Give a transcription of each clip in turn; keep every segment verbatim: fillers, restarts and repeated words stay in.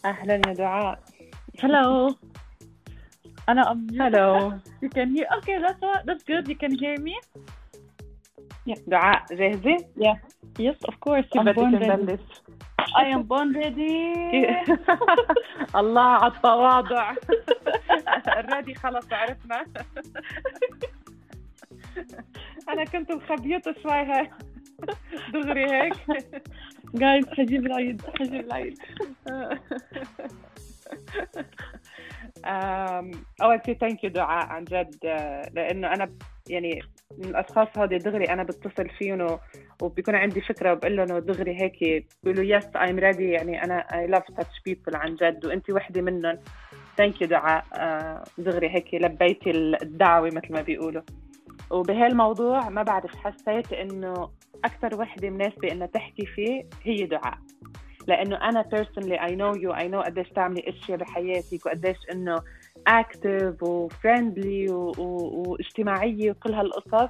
أهلا يا دعاء. Hello. أنا I'm Hello. You can hear. Okay, that's what, that's good. You can hear me. دعاء جاهزة؟ Yeah. Yes, of course. كيف I'm بدك born ready. نبلش؟ I am born ready. الله على التواضع. الرادي خلص عرفنا. أنا كنت مخبيته شوي هيك دغري هيك. Guys, حجيب العيد حجيب العيد. أول شيء thank you دعاء عن جد، لأنه أنا يعني من الأشخاص هذه دغري أنا بتصل فيهم وبيكون عندي فكرة وبقول لهم دغري هيك بيقولوا yes I'm ready. يعني أنا I love such people عن جد، وأنتي وحدة منهم. thank you دعاء، دغري هيك لبيتي الدعوة مثل ما بيقولوا. وبهالموضوع ما بعرف حسيت إنه أكثر وحدة مناسبة إنها تحكي فيه هي دعاء، لأنه أنا personally I know you I know قديش تعملي أشياء بحياتك وقديش إنه active و friendly و... و... واجتماعية وكل هالقصص.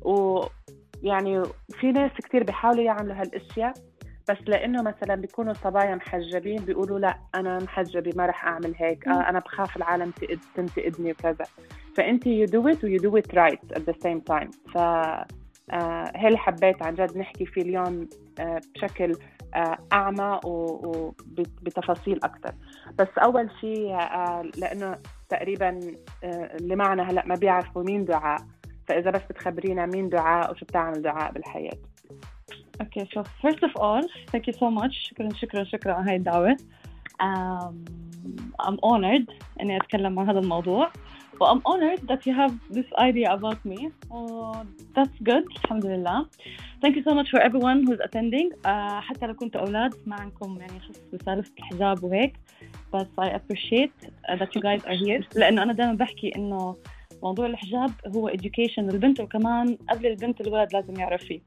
ويعني في ناس كتير بيحاولوا يعملوا هالأشياء، بس لأنه مثلا بيكونوا صبايا محجبين بيقولوا لا أنا محجبة ما رح أعمل هيك، آه أنا بخاف العالم تنتقدني وكذا. فأنتي you do it و you do it right at the same time. ف آه هل حبيت عن جد نحكي فيه اليوم آه بشكل آه أعمى وبتفاصيل أكتر. بس أول شيء آه لأنه تقريبا آه اللي معنا هلأ ما بيعرفوا مين دعاء، فإذا بس بتخبرينا مين دعاء وشو بتعمل دعاء بالحياة. Okay, so first of all, thank you so much. شكرا شكرا شكرا على هاي الدعوة. Um, I'm honored إني أتكلم عن هذا الموضوع. Well, I'm honored that you have this idea about me. Oh, that's good. Alhamdulillah. Thank you so much for everyone who's attending. Uh, حتى لو كنتوا أولاد ما عنكم يعني خص بسالفة الحجاب وهيك. But I appreciate uh, that you guys are here. لأنه أنا دائما بحكي إنه موضوع الحجاب هو education للبنت، وكمان قبل البنت الولد لازم يعرف فيه.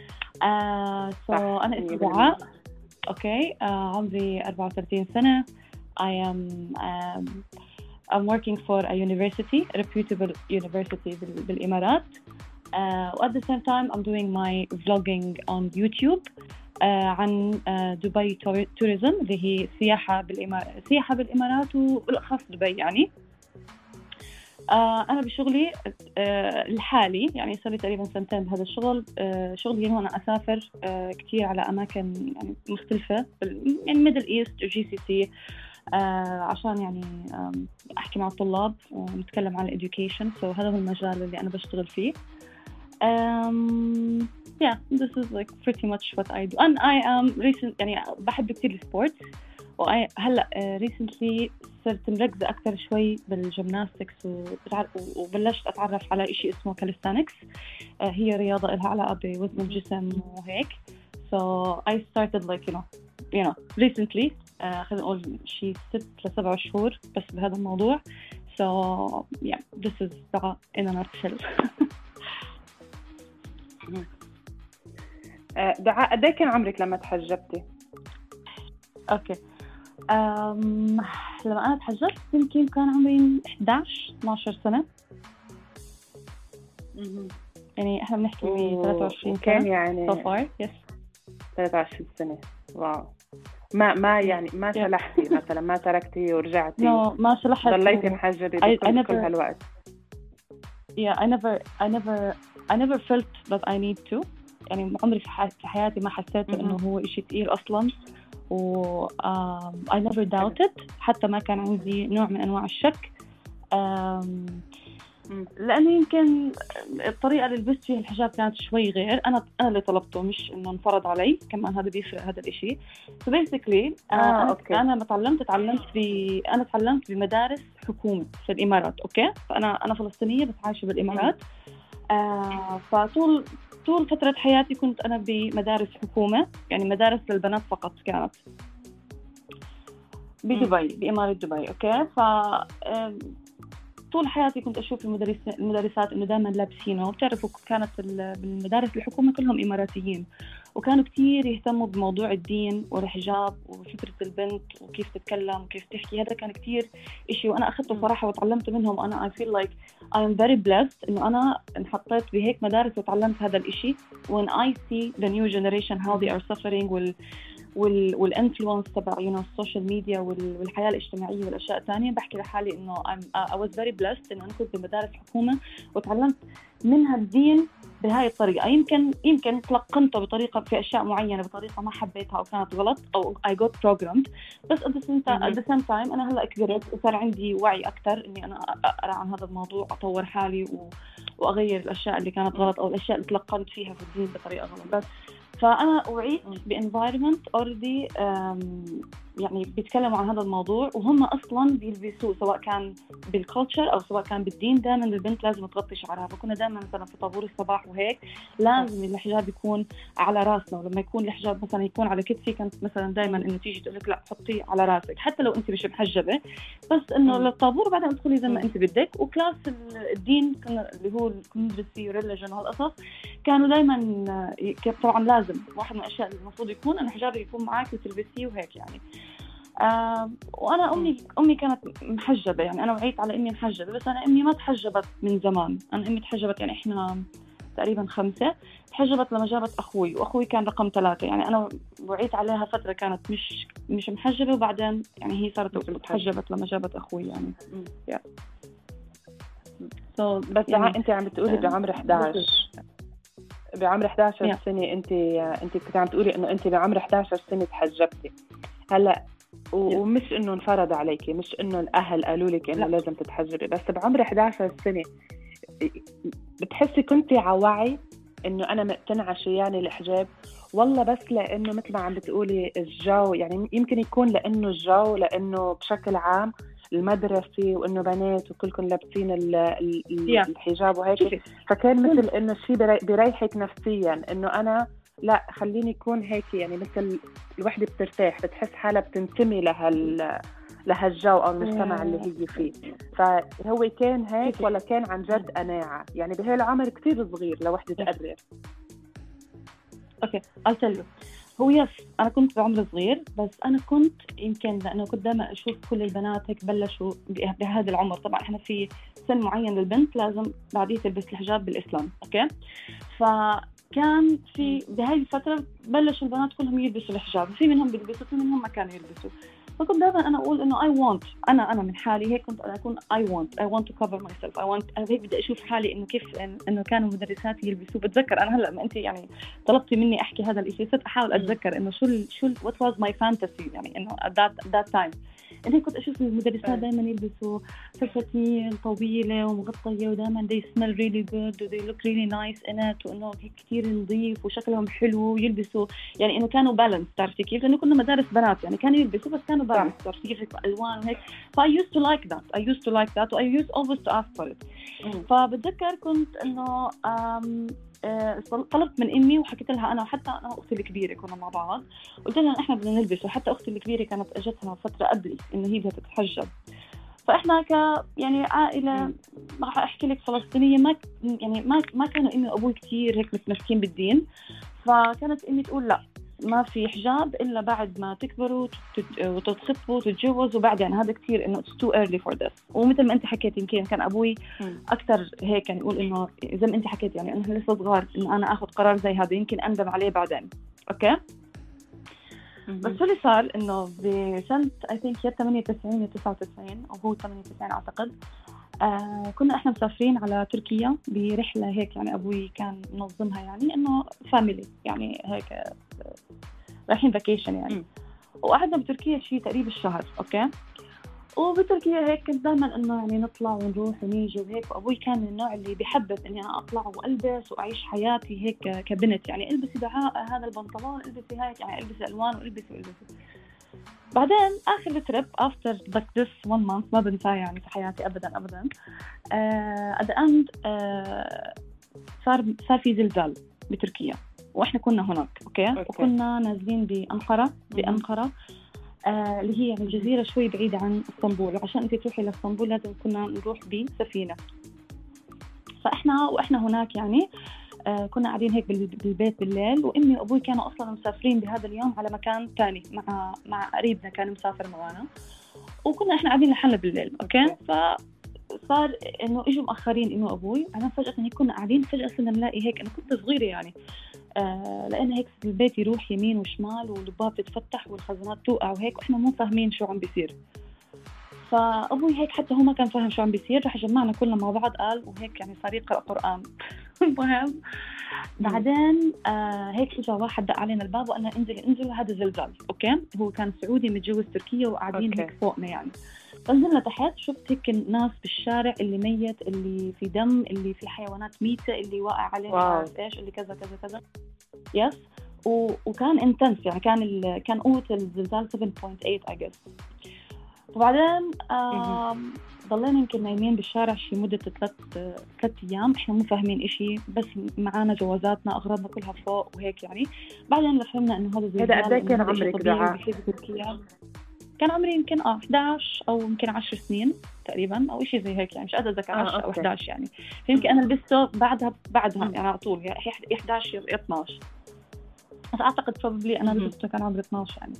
Uh, so أنا اسمي دعاء. Okay. Uh, عمري أربعة وثلاثين سنة. I am um, I'm working for a university, a reputable university بال- بالإمارات. Uh, at the same time, I'm doing my vlogging on YouTube uh, عن uh, دبي tourism اللي هي سياحة بالإمارات، سياحة بالإمارات وبالأخص دبي يعني. Uh, أنا بشغلي uh, الحالي يعني صار لي تقريبا سنتين بهذا الشغل. uh, شغلي هنا أنا أسافر uh, كتير على أماكن يعني مختلفة يعني ميدل إيست وجي سي سي آه عشان يعني أحكي مع الطلاب ونتكلم عن education. so هذا هو المجال اللي أنا بشتغل فيه. um, yeah this is like pretty much what I do and I am recent يعني بحب كتير السبورت. وهلأ uh, recently صرت مركزة أكتر شوي بالجيمناستكس وبلشت أتعرف على إشي اسمه كاليستانكس. uh, هي رياضة لها علاقة بوزن الجسم وهيك. so I started like you know you know recently uh, خلينا نقول شيء ست لسبع شهور بس بهذا الموضوع. so yeah this is دعاء in a nutshell. دعاء قد ايه كان عمرك لما تحجبتي؟ اوكي okay. um, لما انا تحجبت يمكن كان عمري إحدى عشر اثنا عشر سنة. يعني احنا بنحكي ب ثلاثة وعشرين كان يعني so far yes ثلاثة وعشرين سنة. واو. ما ما يعني ما سلحتي مثلا ما تركتي ورجعتي؟ no ما سلحت. ضليتي محجبة بكل كل هالوقت؟ yeah I never I never I never felt that I need to. يعني عمري في حياتي ما حسيت إنه هو إشي تقيل أصلاً. و um, I never doubted. حتى ما كان عندي نوع من أنواع الشك. um, لأنه يمكن الطريقة اللي لبست فيها الحجاب كانت شوي غير. أنا أنا اللي طلبته مش إنه انفرض علي، كمان هذا بيفرق هذا الإشي. so basically آه، أنا أوكي. أنا ما تعلمت تعلمت في أنا تعلمت بمدارس حكومة في الإمارات. أوكي فأنا أنا فلسطينية بس عايشة بالإمارات. آه فطول طول فترة حياتي كنت أنا بمدارس حكومة، يعني مدارس للبنات فقط كانت بدبي بإمارة دبي. أوكي ف طول حياتي كنت أشوف المدرس المدرسات إنه دائما لابسينه. بتعرفوا كانت بالمدارس الحكومة كلهم إماراتيين وكانوا كتير يهتموا بموضوع الدين والحجاب وفكرة البنت وكيف تتكلم وكيف تحكي. هذا كان كتير إشي وأنا أخذته صراحة وتعلمت منهم. أنا I feel like I am very blessed إنه أنا انحطيت بهيك مدارس وتعلمت هذا الإشي. when I see the new generation how they are suffering وال وال والانفلونس تبع you know السوشيال ميديا والحياه الاجتماعيه والاشياء الثانيه، بحكي لحالي انه I'm, I was very blessed انه انا كنت بمدارس حكومه وتعلمت منها الدين بهاي الطريقه. يمكن يمكن تلقنته بطريقه في اشياء معينه بطريقه ما حبيتها او كانت غلط او I got programmed، بس at the same time, at the same time انا هلا كبرت وصار عندي وعي اكثر اني انا اقرا عن هذا الموضوع، اطور حالي و... واغير الاشياء اللي كانت غلط او الاشياء اللي تلقنت فيها في الدين بطريقه غلط. بس فأنا وعيت بانفايرمنت أوردي يعني بيتكلموا عن هذا الموضوع وهم أصلاً بيلبسوه، سواء كان بالكولتشر أو سواء كان بالدين دائماً البنت لازم تغطي شعرها. فكنا دائماً مثلاً في طابور الصباح وهيك لازم الحجاب يكون على راسنا، ولما يكون الحجاب مثلاً يكون على كتفي كانت مثلاً دائماً إنه تيجي تقولك لا حطيه على راسك حتى لو أنت مش محجبة، بس إنه للطابور بعدين تدخلي زي ما أنت بدك. وكلاس الدين كنا اللي هو الكونفرسي وريليجن وهالقصص كانوا دائماً طبعاً لازم واحد من الأشياء اللي المفروض يكون أن حجابي يكون معاك وتلبسيه وهيك يعني. آه وأنا أمي أمي كانت محجبة، يعني أنا وعيت على إني محجبة، بس أنا أمي ما تحجبت من زمان. أنا أمي تحجبت يعني إحنا تقريبا خمسة، تحجبت لما جابت أخوي، وأخوي كان رقم ثلاثة. يعني أنا وعيت عليها فترة كانت مش مش محجبة، وبعدين يعني هي صارت تحجبت لما جابت أخوي يعني. yeah. so بس يعني أنت عم بتقولي بعمر إحدى عشر بعمر إحدى عشر yeah. سنة أنت أنت كنت عم تقولي إنه أنت بعمر إحدى عشر سنة تحجبتي. هلا ومش إنه انفرض عليكي، مش إنه الأهل قالوا لك إنه لازم تتحجبي، بس بعمر إحدى عشر سنة بتحسي كنتي على وعي إنه أنا مقتنعة شو يعني الحجاب، والله بس لأنه مثل ما عم بتقولي الجو، يعني يمكن يكون لأنه الجو، لأنه بشكل عام المدرسة وإنه بنات وكلكم لابسين الحجاب وهيك، فكان مثل إنه شيء بريحك نفسيا إنه أنا لا خليني يكون هيك، يعني مثل الوحدة بترتاح بتحس حالها بتنتمي لهال لهالجو أو المجتمع اللي هي فيه. فهو كان هيك ولا كان عن جد قناعة؟ يعني بهالعمر كتير صغير لوحدة تقرر. أوكي I'll tell you. هو يس أنا كنت بعمر صغير، بس أنا كنت يمكن لأنه كنت دائما أشوف كل البنات هيك بلشوا بهذا العمر. طبعا إحنا في سن معين للبنت لازم بعديه تلبس الحجاب بالإسلام. أوكي فكان في بهاي الفترة بلشوا البنات كلهم يلبسوا الحجاب، في منهم بيلبسوا في منهم ما كانوا يلبسوا. فكنت دائما أنا أقول إنه I want أنا أنا من حالي هيك كنت أنا أكون I want I want to cover myself I want أنا هيك بدي أشوف حالي إنه كيف إنه كانوا مدرساتي يلبسوا. بتذكر أنا هلأ ما أنت يعني طلبتي مني أحكي هذا الإشي صرت أحاول أتذكر إنه شو ال شو ال what was my fantasy، يعني إنه at that that time إنه كنت أشوف المدرسات دائما يلبسوا فساتين طويلة ومغطية ودائما they smell really good و they look really nice in it، وإنه هيك كتير نظيف وشكلهم حلو ويلبسوا، يعني إنه كانوا بالانس. تعرفي كيف؟ لأنه كنا مدارس بنات يعني كانوا يلبسوا بس كانوا بالانس، تعرفي كيف ألوان وهيك. ف I used to like that I used to like that و I used always to ask for it. فبتذكر كنت إنه أه طلبت من أمي وحكيت لها أنا وحتى أنا وأختي الكبيرة كنا مع بعض، قلت لها إحنا بدنا نلبس، وحتى أختي الكبيرة كانت أجتها فترة قبلي إنه هي بدها تتحجب. فإحنا ك يعني عائلة راح أحكي لك فلسطينية ما يعني ما ما كانوا أمي وأبوي كتير هيك متمسكين بالدين، فكانت أمي تقول لا ما في حجاب إلا بعد ما تكبروا وتتخطبوا وتتجوزوا، وبعدين هذا كتير إنه it's too early for this. ومثل ما أنت حكيت يمكن كان أبوي أكتر هيك يعني يقول إنه زي ما أنت حكيت يعني إنه لسه صغار إنه أنا أخذ قرار زي هذا يمكن أندم عليه بعدين. أوكي بس شو اللي صار إنه بسنة I think يا ثمانية وتسعين يا تسعة وتسعين أو هو ثمانية وتسعين أعتقد، آه كنا إحنا مسافرين على تركيا برحلة هيك، يعني أبوي كان منظمها يعني إنه فاميلي يعني هيك آه رايحين فاكيشن يعني م. وقعدنا بتركيا شيء تقريبا الشهر. أوكي وبتركيا هيك كنت دائما إنه يعني نطلع ونروح ونيجي وهيك، وأبوي كان من النوع اللي بيحبب إني أنا أطلع وألبس وأعيش حياتي هيك كبنت، يعني ألبسي دعاء هذا البنطلون ألبسي هيك يعني ألبسي ألوان وألبسي وألبسي. بعدين آخر التريب after like this one month ما بنساه يعني في حياتي أبدا أبدا uh, at the end uh, صار صار في زلزال بتركيا وإحنا كنا هناك. أوكي, أوكي. وكنا نازلين بأنقرة بأنقرة آه اللي هي يعني جزيرة شوي بعيدة عن اسطنبول، وعشان أنت تروحي لاسطنبول لازم كنا نروح بسفينة. فإحنا وإحنا هناك يعني آه كنا قاعدين هيك بالبيت بالليل، وأمي وأبوي كانوا أصلاً مسافرين بهذا اليوم على مكان تاني مع مع قريبنا كان مسافر معنا، وكنا إحنا قاعدين لحالنا بالليل. أوكي فصار إنه إجوا مأخرين إنه أبوي، أنا فجأة هيك كنا قاعدين فجأة صرنا نلاقي هيك، أنا كنت صغيرة يعني آه لأن هيك البيت يروح يمين وشمال والباب تتفتح والخزانات توقع وهيك، وإحنا مو فاهمين شو عم بيصير. فأبوي هيك حتى هو ما كان فاهم شو عم بيصير، رح جمعنا كلنا مع بعض قال وهيك يعني صار يقرأ قرآن. المهم بعدين آه هيك اجى واحد دق علينا الباب وقال لنا انزلي انزلوا هذا زلزال. اوكي، هو كان سعودي متجوز تركيا وقاعدين هيك فوقنا يعني. فنزلنا تحت، شفت هيك الناس بالشارع، اللي ميت، اللي في دم، اللي في حيوانات ميتة، اللي واقع عليه عارف ايش، اللي كذا كذا كذا. يس. و... وكان انتنس يعني، كان ال... كان قوة الزلزال سبعة فاصلة ثمانية I guess. وبعدين آه... ضلينا يمكن نايمين بالشارع شي مدة ثلاث ثلاث أيام، إحنا مو فاهمين إشي، بس معانا جوازاتنا أغراضنا كلها فوق وهيك يعني. بعدين فهمنا إنه هذا زلزال. هذا قد كان عمرك دعاء؟ كان عمري يمكن آه إحدى عشر أو يمكن عشر سنين تقريبا أو إشي زي هيك يعني، مش قادرة أتذكر عشرة أو إحدى عشر يعني. فيمكن أنا لبسته بعدها بعدها يعني على طول يعني إحدى عشر اثنا عشر، بس أعتقد probably أنا لبسته كان عمري اثنا عشر يعني.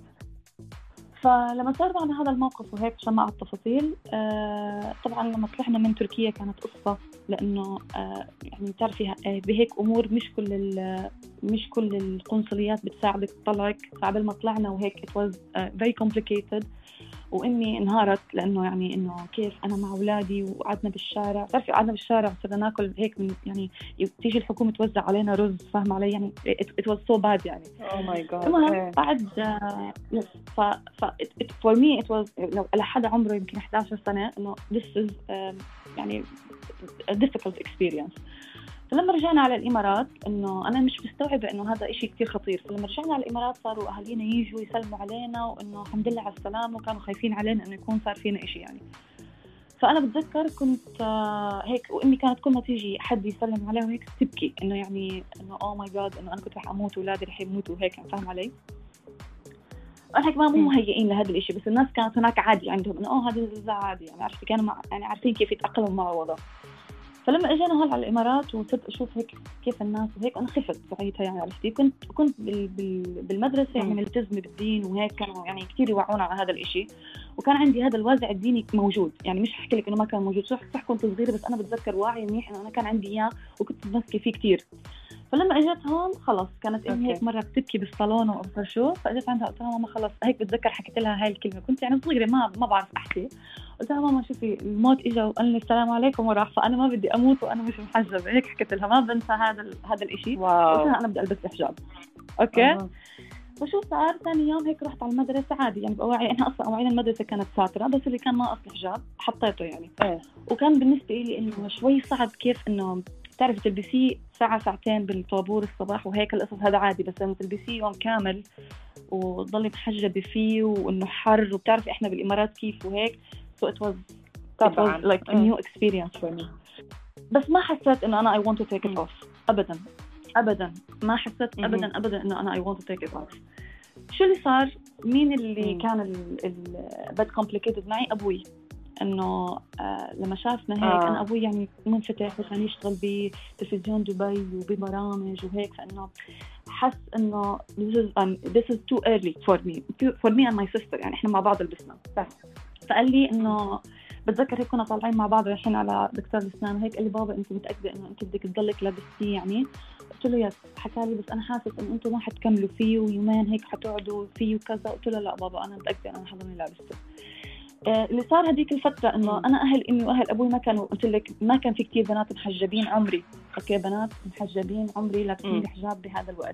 فلما صار معنا هذا الموقف وهيك عشان ما أعرف التفاصيل، آه طبعا لما طلعنا من تركيا كانت قصة، لأنه آه يعني تعرفي آه بهيك أمور مش كل مش كل القنصليات بتساعدك تطلعك. فقبل ما طلعنا وهيك it was uh, very complicated، وإني انهارت لأنه يعني إنه كيف أنا مع أولادي وقعدنا بالشارع. تعرفي قعدنا بالشارع صرنا ناكل هيك من يعني تيجي الحكومة توزع علينا رز، فاهم علي يعني it, it was so bad يعني. oh my god. المهم بعد uh, yes ف ف it, it, for me it was لو على حدا عمره يمكن إحدى عشرة سنة إنه this is um, يعني a difficult experience. فلما رجعنا على الإمارات إنه أنا مش مستوعبة إنه هذا إشي كتير خطير. فلما رجعنا على الإمارات صاروا أهالينا ييجوا يسلموا علينا وإنه الحمد لله على السلامة، وكانوا خايفين علينا إنه يكون صار فينا إشي يعني. فأنا بتذكر كنت هيك، وإمي كانت كل ما تيجي حد يسلم عليها هيك تبكي إنه يعني إنه أوه ماي جاد إنه أنا كنت رح أموت وولادي رح يموتوا وهيك يعني، فاهم علي؟ أنا هيك ما مو مهيئين لهذا الإشي، بس الناس كانت هناك عادي عندهم إنه أوه هذا الزلزال عادي يعني، عرفتي كانوا مع يعني عارفين كيف يتأقلموا مع الوضع. فلما اجينا هون على الامارات وصرت اشوف هيك كيف الناس وهيك، انا خفت ساعتها يعني، عرفتي كنت كنت بال بال بالمدرسه يعني ملتزمه بالدين وهيك، كانوا يعني كثير يوعونا على هذا الإشي، وكان عندي هذا الوازع الديني موجود يعني. مش احكي لك انه ما كان موجود، صح صح كنت صغيره، بس انا بتذكر واعي منيح انه انا كان عندي اياه وكنت ماسكه فيه كثير. فلما اجيت هون خلص كانت امي هيك مره بتبكي بالصالون وابصر شو، فاجيت عندها قلت لها ماما خلص هيك، بتذكر حكيت لها هاي الكلمه، كنت يعني صغيره ما ما بعرف احكي. قلت لها ماما شوفي الموت اجى وقال لي السلام عليكم وراح، فانا ما بدي اموت وانا مش محجبه. هيك حكيت لها، ما بنسى هذا هذا الإشي. قلت لها انا بدي البس حجاب. اوكي أه. وشو صار ثاني يوم هيك رحت على المدرسه عادي يعني بأوعي، احنا اصلا أواعينا المدرسه كانت ساتره، بس اللي كان ناقص الحجاب حطيته يعني. أه. وكان بالنسبه لي انه شوي صعب كيف انه تعرفي تلبسيه ساعه ساعتين بالطابور الصباح وهيك القصص، هذا عادي، بس لما تلبسيه يوم كامل وتضلي محجبه فيه وانه حر، وبتعرفي احنا بالامارات كيف وهيك. so it was طبعا it was like a new experience for me. بس ما حسيت انه انا I want to take it off ابدا ابدا، ما حسيت ابدا ابدا انه انا I want to take it off. شو اللي صار؟ مين اللي مم. كان البد complicated معي؟ ابوي. انه آه لما شافنا هيك آه. انا ابوي يعني منفتح وكان يشتغل بتلفزيون دبي وببرامج وهيك، فانه حس انه this is, um, this is too early for me for me and my sister يعني، احنا مع بعض لبسنا. فقال لي انه بتذكر هيك كنا طالعين مع بعض رايحين على دكتور الاسنان هيك، قال لي بابا انت متاكده انه انت بدك تضلك لابستيه يعني؟ قلت له يس. حكى لي بس انا حاسس انه انتم ما حتكملوا فيه ويومين هيك حتقعدوا فيه وكذا. قلت له لا بابا انا متاكده انا حضرني لابسته. آه اللي صار هذيك الفتره انه انا اهل امي واهل ابوي ما كانوا، قلت لك ما كان في كتير بنات محجبين عمري. اوكي بنات محجبين عمري لابسين حجاب بهذا الوقت،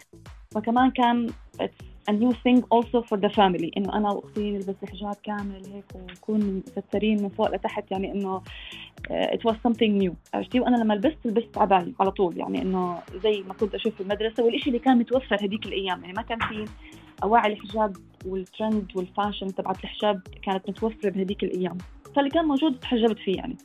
فكمان كان a new thing also for the family انه انا واختي نلبس حجاب كامل هيك ونكون مسترين من فوق لتحت يعني، انه it was something new. عرفتي؟ وانا لما لبست لبست عباية على طول يعني، انه زي ما كنت اشوف في المدرسه، والشيء اللي كان متوفر هذيك الايام يعني، ما كان في اواعي الحجاب والترند والفاشن تبعت الحجاب كانت متوفره بهذيك الايام، فاللي كان موجود تحجبت فيه يعني.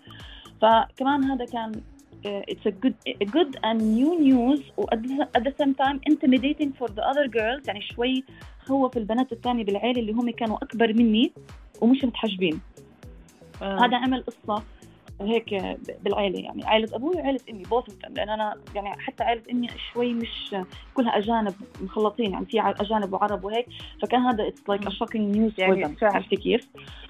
فكمان هذا كان Uh, it's a good a good and new news و at the same time intimidating for the other girls يعني، شوي خوف البنات الثانية بالعيلة اللي هم كانوا أكبر مني ومش متحجبين. آه. هذا عمل قصة هيك بالعيلة يعني، عائلة أبوي وعائلة أمي both لأن أنا يعني حتى عائلة أمي شوي مش كلها أجانب مخلطين يعني، في أجانب وعرب وهيك، فكان هذا it's like a shocking news يعني. عرفتي كيف؟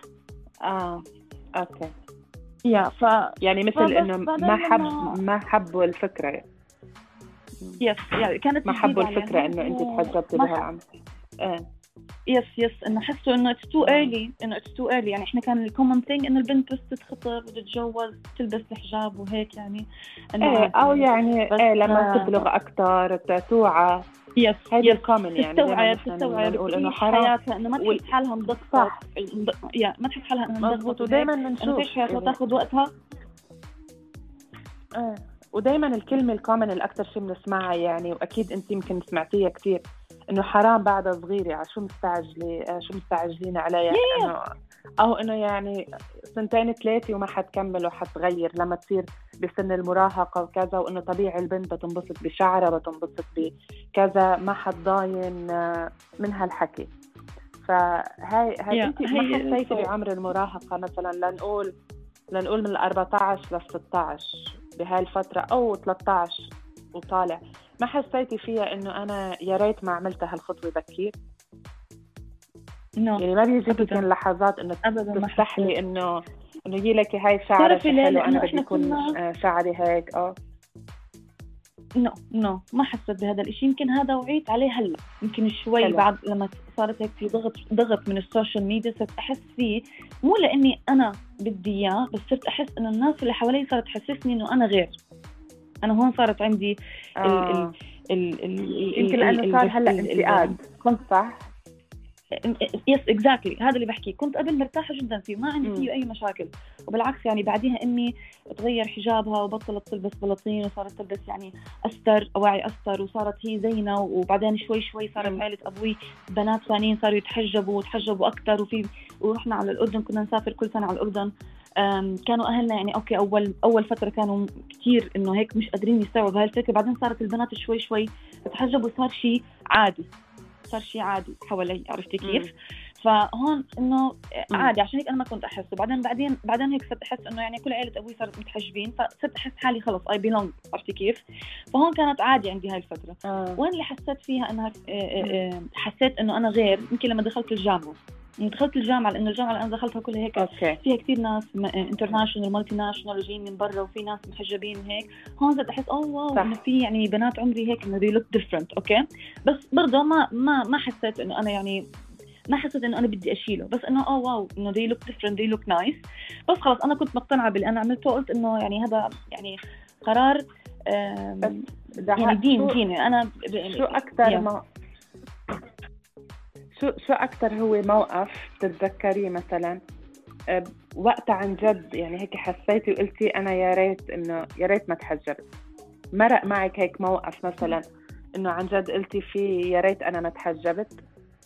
آه أوكي يا ف يعني مثل انه ما حب ما حبوا الفكره يس يعني كانت ما حبوا الفكرة إنه أنت تحجبتي بهالعمر. إيه يس يس إنه حسوا إنه it's too early إنه it's too early يعني إحنا كان الcommon thing إنه البنت بس تتخطب وتتجوز تلبس الحجاب وهيك يعني إنه إيه أو يعني إيه لما تبلغ أكتر توعى يس هذا الكومن يعني تستوعب تستوعب نقول إنه حياتها إنه ما تحس حالها مضغوطة يا ما تحس حالها إنها مضغوطة ودائما بنشوف إنه حياتها تاخذ وقتها. إيه ودائما الكلمة الكومن الأكثر شيء بنسمعها يعني وأكيد أنت يمكن سمعتيها كتير إنه حرام بعدها صغيرة على شو مستعجلة شو مستعجلين عليها yeah. إنه أو إنه يعني سنتين ثلاثة وما حتكمل وحتغير لما تصير بسن المراهقة وكذا وإنه طبيعي البنت بتنبسط بشعرها بتنبسط بكذا ما حتضاين من هالحكي. فهاي هاي yeah. أنت ما حسيتي بعمر المراهقة مثلا لنقول لنقول من الأربعة عشر للستة عشر بهاي الفترة أو ثلاثة عشر وطالع ما حسيتي فيها إنه أنا يا ريت ما عملت هالخطوة بكير؟ no. يعني ما بيجي يمكن لحظات إنه تستحلي إنه إنه يجي لك هاي شعرك حلو أنا بدي يكون كنا... شعري هيك أه نو no, نو no. ما حسيت بهذا الإشي يمكن هذا وعيت عليه هلا يمكن شوي حلو. بعد لما صارت هيك في ضغط ضغط من السوشيال ميديا صرت أحس فيه مو لأني أنا بدي إياه بس صرت أحس إنه الناس اللي حوالي صارت تحسسني إنه أنا غير أنا هون صارت عندي آه. ال ال ال يمكن لأنه صار هلا انتقاد صح؟ يس اكزاكتلي هذا اللي بحكيه كنت قبل مرتاحة جدا فيه ما عندي فيه أي مشاكل وبالعكس يعني بعديها أمي تغير حجابها وبطلت تلبس بلاطين وصارت تلبس يعني أستر أواعي أستر وصارت هي زينة وبعدين شوي شوي صارت عائلة أبوي بنات ثانيين صاروا يتحجبوا وتحجبوا أكتر وفي ورحنا على الأردن كنا نسافر كل سنة على الأردن كانوا أهلنا يعني أوكي أول أول فترة كانوا كتير إنه هيك مش قادرين يستوعبوا هالفكرة بعدين صارت البنات شوي شوي تتحجبوا وصار شيء عادي صار شيء عادي حوالي عرفتي كيف؟ فهون إنه عادي عشان هيك أنا ما كنت أحس وبعدين بعدين بعدين هيك صرت أحس إنه يعني كل عائلة أبوي صارت متحجبين فصرت أحس حالي خلص I belong عرفتي كيف؟ فهون كانت عادي عندي هاي الفترة. آه. وين اللي حسيت فيها إنها حسيت إنه أنا غير يمكن لما دخلت الجامعة. دخلت الجامعة لأن الجامعة اللي أنا دخلتها كلها هيك أوكي. فيها كتير ناس انترناشونال مالتي ناشونال جايين من برا وفي ناس محجبين هيك هون صرت أحس أوه واو إنه في يعني بنات عمري هيك إنه they look different أوكي بس برضه ما ما ما حسيت إنه أنا يعني ما حسيت إنه أنا بدي أشيله بس إنه أوه واو إنه they look different they look nice بس خلاص أنا كنت مقتنعة باللي أنا عملته وقلت إنه يعني هذا يعني قرار يعني دين ديني أنا ب... شو أكتر ما شو شو أكتر هو موقف تتذكريه مثلا أه وقت عن جد يعني هيك حسيتي وقلتي أنا يا ريت إنه يا ريت ما تحجبت مرق معك هيك موقف مثلا إنه عن جد قلتي فيه يا ريت أنا ما تحجبت؟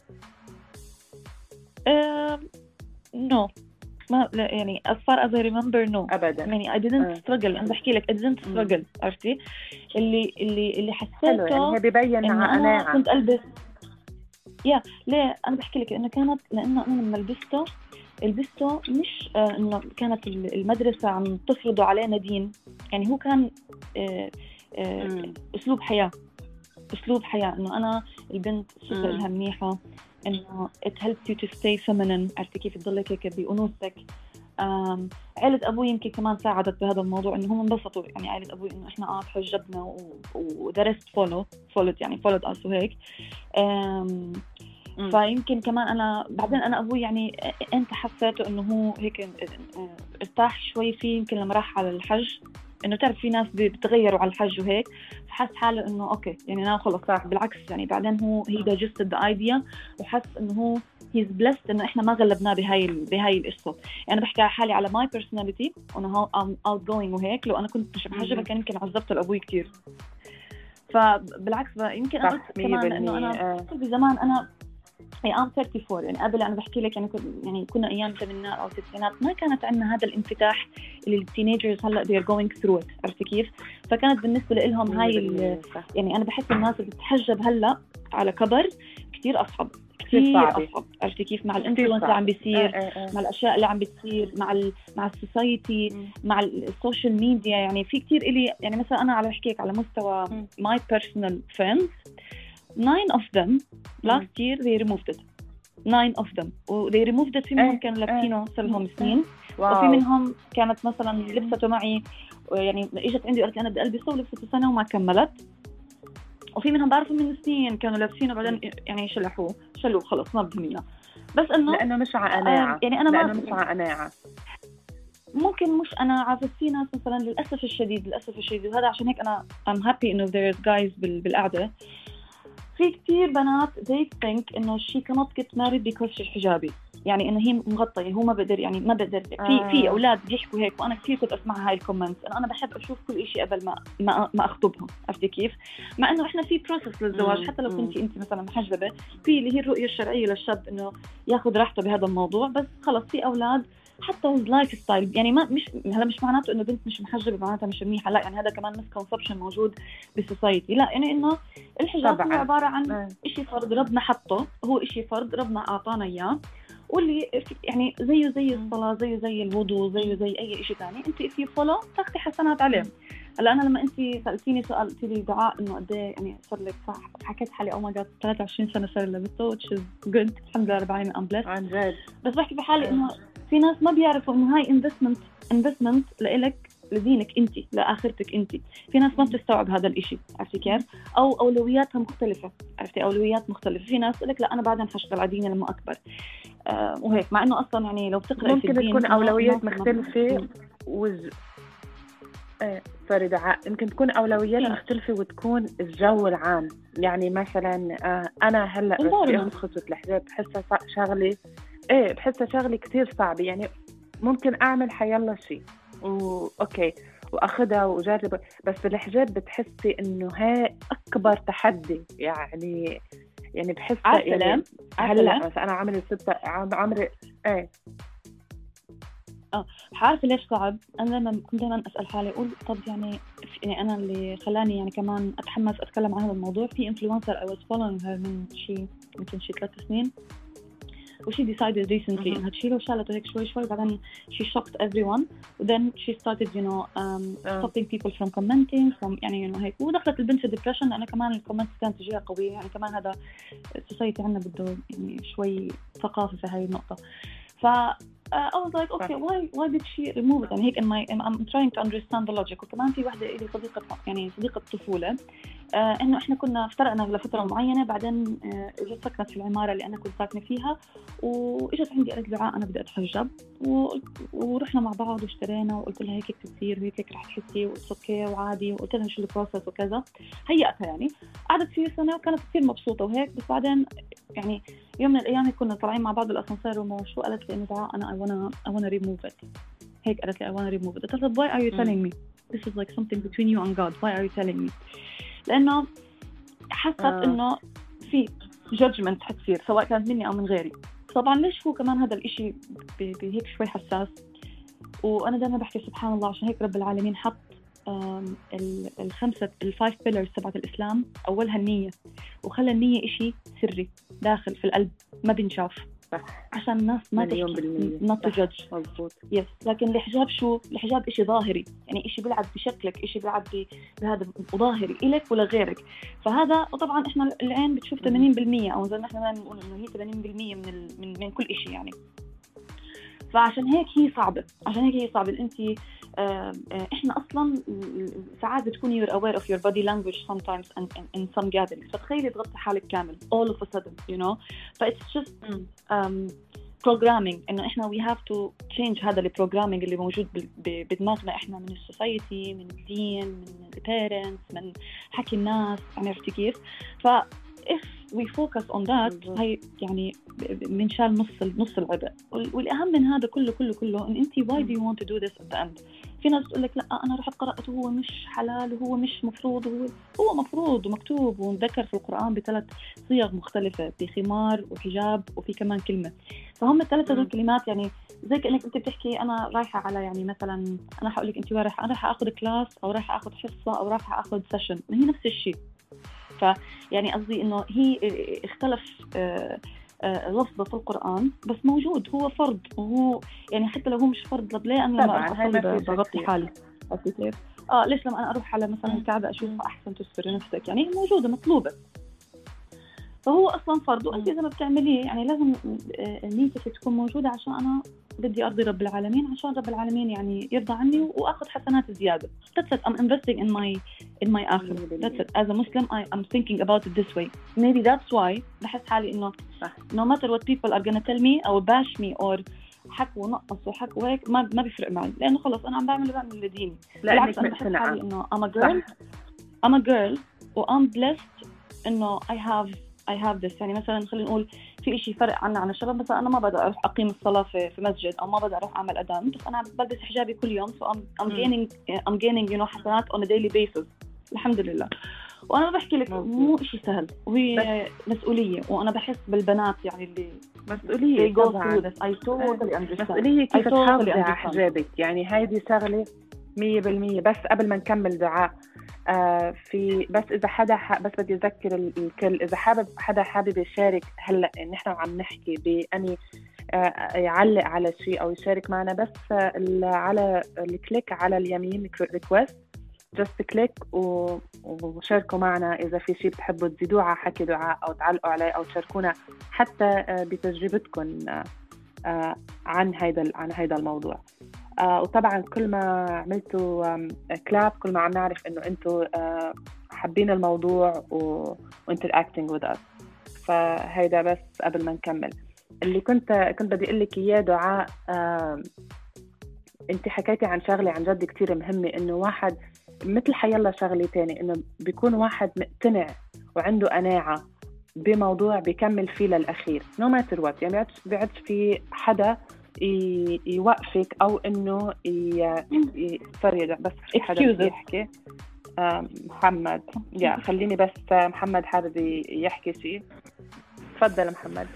أه no ما لا يعني as far as I remember no أبدا يعني I didn't struggle أنا بحكي لك I didn't struggle عرفتي اللي اللي اللي حسيته يعني هي ببين أنا كنت ألبس يا ليه أنا بحكي لك إنه كانت لأنه أنا لما لبسته لبسته مش آه إنه كانت المدرسة عم تفرضوا علينا دين يعني هو كان آه آه أسلوب حياة أسلوب حياة إنه أنا البنت صفة لها منيحة إنه it helps you to stay feminine عرفتي كيف تضلك هيك بأنوثتك. عائلة أبوي يمكن كمان ساعدت بهذا الموضوع إنه هم انبسطوا يعني عائلة أبوي إنه إحنا آه تحجبنا ودرست فولو فولد يعني فولد ألسو هيك فيمكن كمان أنا بعدين أنا أبوي يعني أنت حسيته إنه هو هيك ارتاح شوي فيه يمكن لما راح على الحج إنه تعرف في ناس بتغيروا على الحج وهيك فحس حاله إنه أوكي يعني أنا خلص صح بالعكس يعني بعدين هو he digested the idea وحس إنه هو he's blessed إنه إحنا ما غلبناه بهاي بهاي القصة يعني بحكي على حالي على my personality وأنا I'm outgoing وهيك لو أنا كنت مش محجبة كان يمكن عذبت لأبوي كتير فبالعكس يمكن أنا قلت كمان إنه أنا بزمان أنا يعني I'm ثلاثة وثلاثين يعني قبل أنا بحكي لك يعني يعني كنا أيام الثمانينات أو التسعينات ما كانت عندنا هذا الانفتاح اللي التينيجرز هلا they're going through it عرفت كيف؟ فكانت بالنسبة لهم هاي يعني أنا بحس الناس اللي بتتحجب هلا على كبر كتير أصعب كتير أصعب عرفت كيف؟ مع الانفلونس اللي عم بيصير مع الأشياء اللي عم بتصير مع ال مع السوسايتي مع السوشيال ميديا يعني في كتير إلي يعني مثلا أنا على بحكيك على مستوى my personal friends nine of them last year they removed it nine of them و they removed it في منهم كانوا لابسينه صار لهم سنين وفي منهم كانت مثلا لبسته معي يعني اجت عندي وقالت لي انا بدي البسه ولبسته سنه وما كملت وفي منهم بعرفوا من سنين كانوا لابسينه بعدين يعني شلحوه شلوه خلص ما بدهم اياه. بس انه لانه مش على قناعه، يعني انا لانه مش على قناعه. ممكن مش انا عارفه في ناس مثلا للاسف الشديد للاسف الشديد وهذا عشان هيك انا I'm happy انه there's guys بالقعده. في كتير بنات they think انه she cannot get married because she's حجابي، يعني انه هي مغطيه هو ما بقدر يعني ما بقدر آه. في في اولاد بيحكوا هيك، وانا كثير كنت اسمع هاي الكومنتس. انا انا بحب اشوف كل شيء قبل ما ما ما اخطبهم، عرفتي كيف؟ مع انه احنا في بروسس للزواج مم. حتى لو مم. كنتي انت مثلا محجبه، في اللي هي الرؤيه الشرعيه للشاب انه ياخذ راحته بهذا الموضوع. بس خلص في اولاد حتى اللايف ستايل يعني ما مش هلا مش معناته انه بنت مش محجبه معناتها مش منيحه، لا يعني هذا كمان مسكونسبشن موجود بالسوسايتي. لا يعني انه الحجاب هو عباره عن شيء فرض ربنا حطه، هو شيء فرض ربنا اعطانا اياه، واللي يعني زيه زي الصلاه زيه زي الوضوء زيه زي اي شيء ثاني، انت if you follow تاخذي حسنات عليه. هلا انا لما انت سالتيني سؤال قلتي لي دعاء انه قد ايه يعني صار لك صح، حكيت حالي او ما جات ثلاثة وعشرين سنه صار لي لبسته which is good الحمد لله رب العالمين ام بليس عن جد. بس بحكي بحالي انه في ناس ما بيعرفوا انه هاي انفستمنت انفستمنت لإلك لدينك انت لاخرتك انت. في ناس ما بتستوعب هذا الاشي، عرفتي كيف؟ او اولوياتها مختلفه، عرفتي اولويات مختلفه. في ناس تقول لك لا انا بعدين حشتغل على ديني لما اكبر آه وهيك، مع انه اصلا يعني لو بتقرأي ممكن تكون اولويات مختلفه وز... ايه سوري دعاء، يمكن تكون اولويات إيه؟ مختلفه وتكون الجو العام. يعني مثلا آه انا هلا بدي اخذ خطوه الحجاب بحسها شغله ايه بحسها شغله كتير صعبه. يعني ممكن اعمل حيلا شيء واوكي واخذها واجرب، بس بالحجاب بتحسي انه هاي اكبر تحدي. يعني يعني بحسها يعني هلا مثلا انا عمري ستة عمري ايه اه عارفه ليش صعب؟ انا لما كنت دائما اسال حالي اقول طب يعني يعني انا اللي خلاني يعني كمان اتحمس اتكلم عن هذا الموضوع في انفلونسر I was following her من شيء يمكن شيء ثلاث سنين، وشي decided recently إنها تشيله وشالته هيك شوي شوي. بعدين she shocked everyone and then she started you know um, stopping people from commenting from يعني you know هيك. ودخلت البنت في depression لأنه كمان الكومنتس كانت تجيها قوية. يعني كمان هذا السوسايتي عندنا بده يعني شوي ثقافة في هاي النقطة. ف Uh, I was like okay why why did she remove it؟ يعني هيك in my I'm trying to understand the logic. وكمان في واحدة إلي صديقة يعني صديقة طفولة uh, إنه إحنا كنا افترقنا لفترة معينة، بعدين uh, إجت سكنت في العمارة اللي أنا كنت ساكنة فيها، وإجت عندي قالت دعاء أنا بدي أتحجب و... ورحنا مع بعض واشترينا وقلت لها هيك بتصير وهيك هيك رح تحسي وأوكي وعادي، وقلت لها شو البروسس وكذا. هيأتها يعني قعدت فيه سنة وكانت كثير مبسوطة وهيك. بس بعدين يعني يوم من الأيام كنا طالعين مع بعض بالأسانسير وما شو قالت لي إنه دعاء أنا I wanna I wanna remove it. هيك قالت لي I wanna remove it. قلت لها why are you telling me this is like something between you and God why are you telling me؟ لأنه حست آه. إنه في judgment حتصير سواء كانت مني أو من غيري. طبعا ليش هو كمان هذا الإشي بهيك شوي حساس، وأنا دائما بحكي سبحان الله عشان هيك رب العالمين حط الخمسة الفايف بيلرز تبعت الإسلام أولها النية، وخلى النية إشي سري داخل في القلب ما بنشاف عشان الناس ما تحكي not to judge. يس لكن الحجاب شو؟ الحجاب إشي ظاهري، يعني إشي بيلعب بشكلك، إشي بيلعب بهذا ظاهري إلك ولا غيرك. فهذا وطبعا إحنا العين بتشوف ثمانين بالمية أو زي ما إحنا دائما بنقول إنه هي ثمانين بالمية من ال... من من كل إشي يعني. فعشان هيك هي صعبة، عشان هيك هي صعبة. أنت إحنا أصلاً ساعات بتكوني you're aware of your body language sometimes and in, in some gatherings. فتخيلي تغطي حالك كامل all of a sudden you know. ف it's just um, programming إنه إحنا we have to change هذا البروجرامينج اللي موجود بدماغنا إحنا من السوسايتي من الدين من البيرنتس من حكي الناس. عرفتي كيف؟ ف if we focus on that هاي يعني بنشال نص نص العبء. والأهم من هذا كله كله كله إن أنتي why do you want to do this at the end؟ في ناس تقول لك لا أنا رحت قرأت وهو مش حلال وهو مش مفروض، وهو هو مفروض ومكتوب ومذكر في القرآن بثلاث صيغ مختلفة، بخمار وحجاب وفي كمان كلمة. فهم الثلاثة دول كلمات يعني زي كأنك أنت بتحكي أنا رايحة على يعني مثلا أنا هقول لك أنت وين رايحة؟ أنا رايحة أخذ كلاس أو رايحة أخذ حصة أو رايحة أخذ سيشن، هي نفس الشيء. فيعني قصدي إنه هي اختلف لفظه في القرآن بس موجود، هو فرض وهو يعني حتى لو هو مش فرض لبليه أنا لما أصلي بغطي حالي كيف آه ليش لما أنا أروح على مثلا الكعبة أشوفها أحسن تستر نفسك يعني موجودة مطلوبة. فهو اصلا فرض، وانت اذا ما بتعمليه يعني لازم نيتك تكون موجوده عشان انا بدي ارضي رب العالمين، عشان رب العالمين يعني يرضى عني واخذ حسنات زياده. That's it. I'm investing in my in my آخرة. That's it. As a Muslim I am thinking about it this way. Maybe that's why بحس حالي انه no matter what people are gonna tell me or bash me or حكوا ونقصوا وحكوا وهيك ما ما بيفرق معي، لانه خلص انا عم بعمل بعمل لديني. بالعكس انا بحس حالي انه I'm a girl I'm a girl و I'm blessed انه I have I have this. يعني مثلا خلينا نقول في إشي فرق عنا عن الشباب، مثلا أنا ما بدي أروح أقيم الصلاة في في مسجد أو ما بدي أروح أعمل أذان، بس أنا بلبس حجابي كل يوم. so I'm I'm gaining I'm gaining you know حسنات on a daily basis الحمد لله. وأنا بحكي لك مو إشي سهل وهي مسؤولية، وأنا بحس بالبنات يعني اللي مسؤولية they go through this. I totally understand. مسؤولية كيف تحافظي على حجابك، يعني هيدي شغلة مية بالمية. بس قبل ما نكمل دعاء آه في بس إذا حدا بس بدي أذكر الكل، إذا حابب حدا حابب يشارك هلأ نحن عم نحكي بأني آه يعلق على شيء أو يشارك معنا، بس آه على الكليك على اليمين request just click وشاركوا معنا إذا في شيء بتحبوا تزيدوه على حكي دعاء أو تعلقوا عليه أو تشاركونا حتى آه بتجربتكم آه عن هيدا عن هيدا الموضوع. آه وطبعا كل ما عملتوا كلاب كل ما عم نعرف انه انتوا آه حابين الموضوع و interacting with us. فهيدا بس قبل ما نكمل اللي كنت كنت بدي اقول لك اياه دعاء. آه انت حكيتي عن شغله عن جد كتير مهمه، انه واحد مثل حيلا شغله تاني انه بيكون واحد مقتنع وعنده قناعه بموضوع بيكمل فيه للاخير no matter what. يعني بيعدش في حدا يوقفك او انه يفرج. بس في حدا بيحكي محمد يا خليني بس محمد حابب يحكي شيء. تفضل محمد.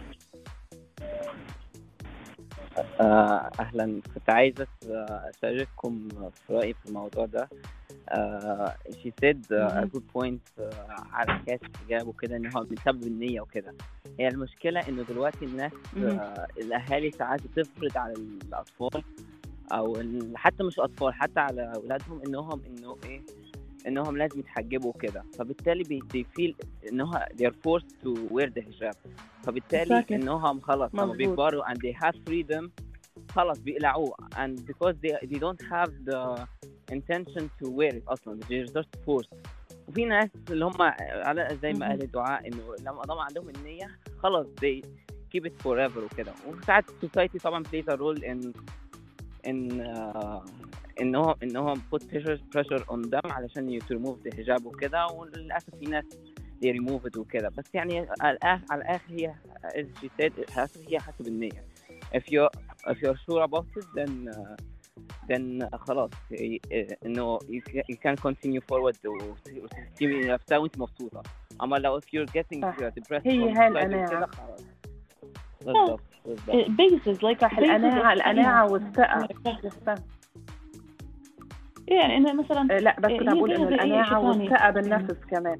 اهلا، كنت عايزه اشارككم في رايي في الموضوع ده. uh, she said uh, a good point uh, على حكاية الحجاب وكده، ان هو بسبب النية وكده. هي المشكلة انه دلوقتي الناس uh, الاهالي ساعات بتفرض على الاطفال او حتى مش اطفال حتى على اولادهم انهم انه ايه انهم لازم يتحجبوا كده، فبالتالي بيفيل انهم they're forced to wear the hijab. فبالتالي انهم خلاص لما بيكبروا and they have freedom خلاص بيقلعوه and because they they don't have the intention to wear it اصلا they're just forced. وفي ناس اللي هم على زي ما قال الدعاء انه لما طبعا عندهم النية خلاص they keep it forever وكده. وساعات society طبعا plays a role in in uh, انهم انهم put pressure pressure on them علشان to remove the hijab وكده، وللاسف في ناس they remove it وكده. بس يعني على الاخر على الاخر هي as she said هي حسب النية. if you if you're sure about it then uh, then uh, خلاص انه you, you can continue forward وتسيبي نفسها وانت مبسوطة. اما لو if you're getting depressed هي هالقناعة بالضبط بالضبط basis like القناعة القناعة والثقة. يعني إنه مثلا لا بس كنت أقول إنه القناعة والثقة بالنفس كمان.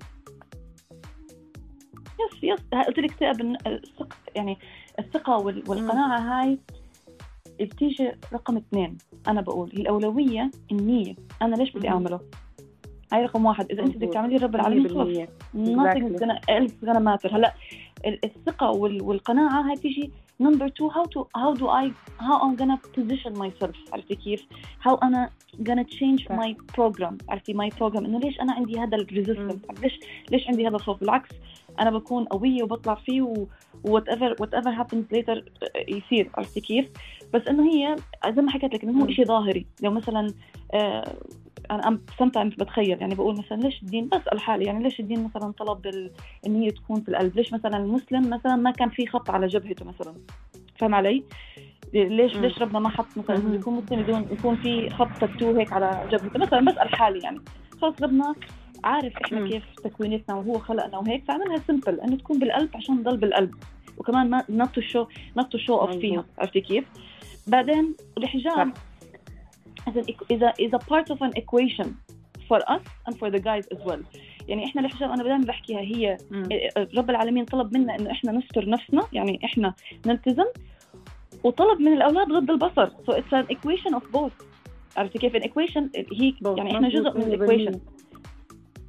يس يس قلت لك ثقة بالثقة، يعني الثقة والقناعة هاي بتيجي رقم اثنين. أنا بقول الأولوية النية، أنا ليش بدي أعمله؟ هاي رقم واحد. إذا أنت بدك تعملي رب العالمين خلاص nothing is gonna else gonna matter. هلا الثقة والقناعة هاي تيجي number two. how to how do I how I'm gonna position myself. عرفتي كيف؟ how أنا gonna change my program. عرفتي my program إنه ليش أنا عندي هذا الresistance، ليش ليش عندي هذا الخوف. بالعكس أنا بكون قوية وبطلع فيه و whatever whatever happens later يصير. عرفتي كيف؟ بس إنه هي زي ما حكيت لك إنه هو إشي ظاهري. لو مثلا آه أنا sometimes بتخيل يعني بقول مثلا ليش الدين، بسأل حالي يعني ليش الدين مثلا طلب إن هي تكون في القلب؟ ليش مثلا المسلم مثلا ما كان في خط على جبهته مثلا؟ فهم علي؟ ليش ليش ربنا ما حط مثلا يكون مسلم بدون يكون في خط تاتو هيك على جبهته مثلا؟ بسأل حالي يعني خلاص ربنا عارف إحنا كيف تكوينتنا وهو خلقنا وهيك، فعملها سيمبل إنه تكون بالقلب عشان تضل بالقلب، وكمان ما نطو شو نطو شو أوف فيها. عرفتي كيف؟ بعدين الحجاب إذا إذا part of an equation for us and for the guys as well. يعني إحنا الحجاب أنا بدايما بحكيها هي م. رب العالمين طلب منا إنه إحنا نستر نفسنا، يعني إحنا نلتزم، وطلب من الأولاد غض البصر. so it's an equation of both. عرفتي كيف؟ an equation هي يعني إحنا جزء من equation.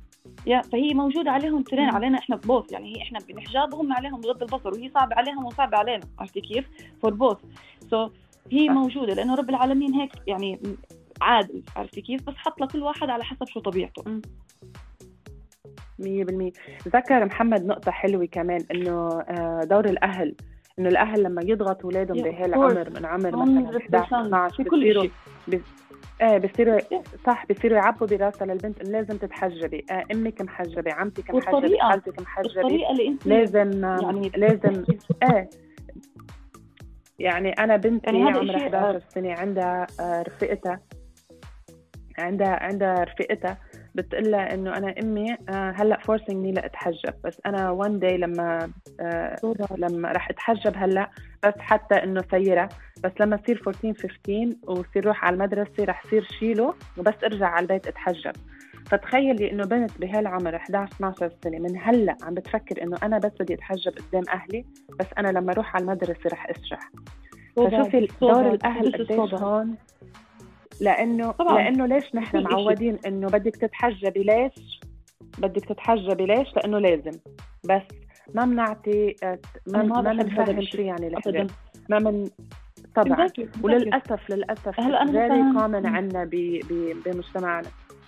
يا فهي موجودة عليهم ترين مم. علينا إحنا بوث، يعني هي إحنا بالحجاب وهم عليهم بغض البصر، وهي صعبة عليهم وصعبة علينا، عرفتي كيف؟ فور بوث. سو هي صح. موجودة لأنه رب العالمين هيك يعني عادل، عرفتي كيف؟ بس حط لكل واحد على حسب شو طبيعته. مم. مية بالمية. ذكر محمد نقطة حلوة كمان إنه آه، دور الأهل، إنه الأهل لما يضغطوا أولادهم Yeah, of بهالعمر من عمر مثلا إحدى عشر اثنا عشر في كل بصيروا شيء. بس ايه بصيروا صح، بصيروا يعبوا براسها للبنت إن لازم تتحجبي، آه امك محجبه، عمتك محجبه، والطريقة خالتك محجبه، الطريقة اللي أنت لازم آم، يعني لازم ايه. يعني انا بنتي يعني هذا عمرها إشي إحدى عشر سنه، عندها آه، رفيقتها عندها عندها رفيقتها بتقلها انه انا امي آه، هلا فورسينجني لاتحجب، بس انا وان داي لما آه، لما راح اتحجب هلا بس حتى انه سيره، بس لما تصير أربعطعش خمستاشر وصير روح على المدرسه رح صير شيله وبس ارجع على البيت اتحجب. فتخيلي انه بنت بهالعمر إحدى عشر اثنا عشر سنه من هلا عم بتفكر انه انا بس بدي اتحجب قدام اهلي، بس انا لما اروح على المدرسه رح اسرح. فشوفي دور الاهل قديش هون، لانه طبعاً. لانه ليش نحن بكل معودين انه بدك تتحجبي، ليش بدك تتحجبي ليش؟ لانه لازم، بس ما بنعطي ما ما ما بحب هذا بنفهم الشيء شو يعني الحجاب، أبداً. ما من طبعا. Exactly, exactly. وللاسف للاسف هلا أنا very مثلاً- common عندنا ب- ب- بمجتمعنا.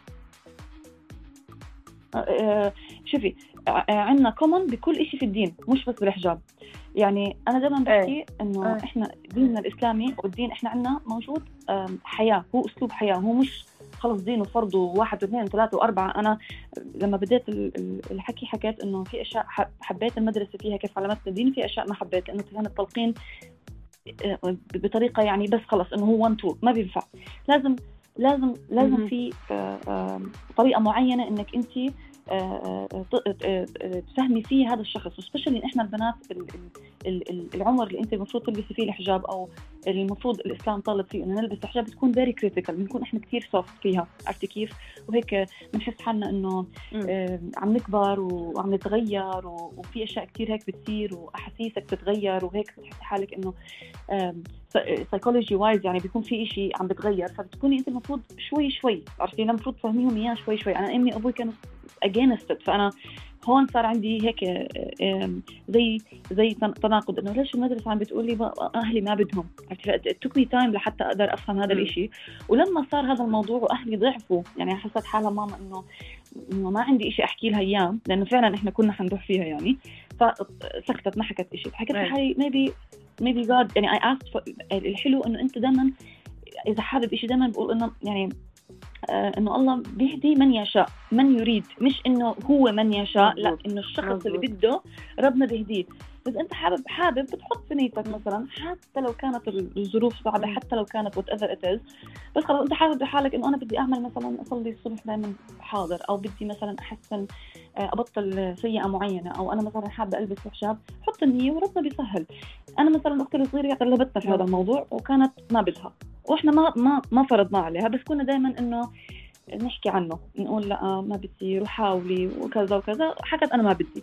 آه، شوفي آه، عندنا كومن بكل إشي في الدين، مش بس بالحجاب. يعني أنا دائما بحكي إنه آه. إحنا ديننا الإسلامي والدين إحنا عندنا موجود آم، حياة، هو أسلوب حياة، هو مش خلص دين وفرض وواحد واثنين وثلاثة وأربعة. أنا لما بديت ال- ال- الحكي حكيت إنه في أشياء ح- حبيت المدرسة فيها كيف علمتنا الدين، في أشياء ما حبيت لأنه كان التلقين آه، بطريقة يعني بس خلص إنه هو one two ما بينفع. لازم لازم لازم مهم. في آه، آه، طريقة معينة إنك أنت آه، آه، ت- آه، آه، تفهمي فيه هذا الشخص، وسبيشلي إحنا البنات ال- ال- ال- ال- العمر اللي أنت المفروض تلبسي فيه الحجاب أو المفروض الإسلام طالب فيه إنه نلبس الحجاب، بتكون very critical، بنكون إحنا كتير soft فيها، عرفتي كيف؟ وهيك بنحس حالنا إنه مم. آه، عم نكبر وعم نتغير و- وفي أشياء كتير هيك بتصير وأحاسيسك بتتغير، وهيك بتحسي حالك إنه سايكولوجي وايز يعني بيكون في إشي عم بتغير، فبتكوني أنت المفروض شوي شوي، عرفتي، المفروض تفهميهم إياه شوي شوي. أنا أمي وأبوي كانوا against it، فأنا هون صار عندي هيك آم، زي زي تن- تناقض إنه ليش المدرسة عم بتقولي بقى أهلي ما بدهم، عرفتي. it took me time لحتى أقدر أفهم هذا مم. الإشي. ولما صار هذا الموضوع وأهلي ضعفوا، يعني حسيت حالها ماما إنه إنه ما عندي إشي أحكي لها إياه، لأنه فعلا إحنا كنا حنروح فيها يعني، فسكتت ما حكت إشي. حكيت أي. لحالي maybe maybe God يعني I asked for. الحلو إنه أنت دائما إذا حابب إشي دائما بقول إنه يعني آه إنه الله بيهدي من يشاء من يريد، مش إنه هو من يشاء، لا مظبوط. إنه الشخص مظبوط. اللي بده ربنا بيهديه. إذا أنت حابب حابب بتحط في نيتك مثلا، حتى لو كانت الظروف صعبة، مم. حتى لو كانت whatever it is، بس خلاص أنت حابب بحالك إنه أنا بدي أعمل مثلا أصلي الصبح دائما حاضر، أو بدي مثلا أحسن آه، أبطل سيئة معينة، أو أنا مثلا حابة ألبس حجاب، حط النية وربنا بيسهل. أنا مثلا أختي الصغيرة غلبتنا في هذا الموضوع وكانت ما بدها، وإحنا ما ما ما فرضنا عليها، بس كنا دائما إنه نحكي عنه، نقول لا ما بدي، روح حاولي وكذا وكذا. حكت أنا ما بدي.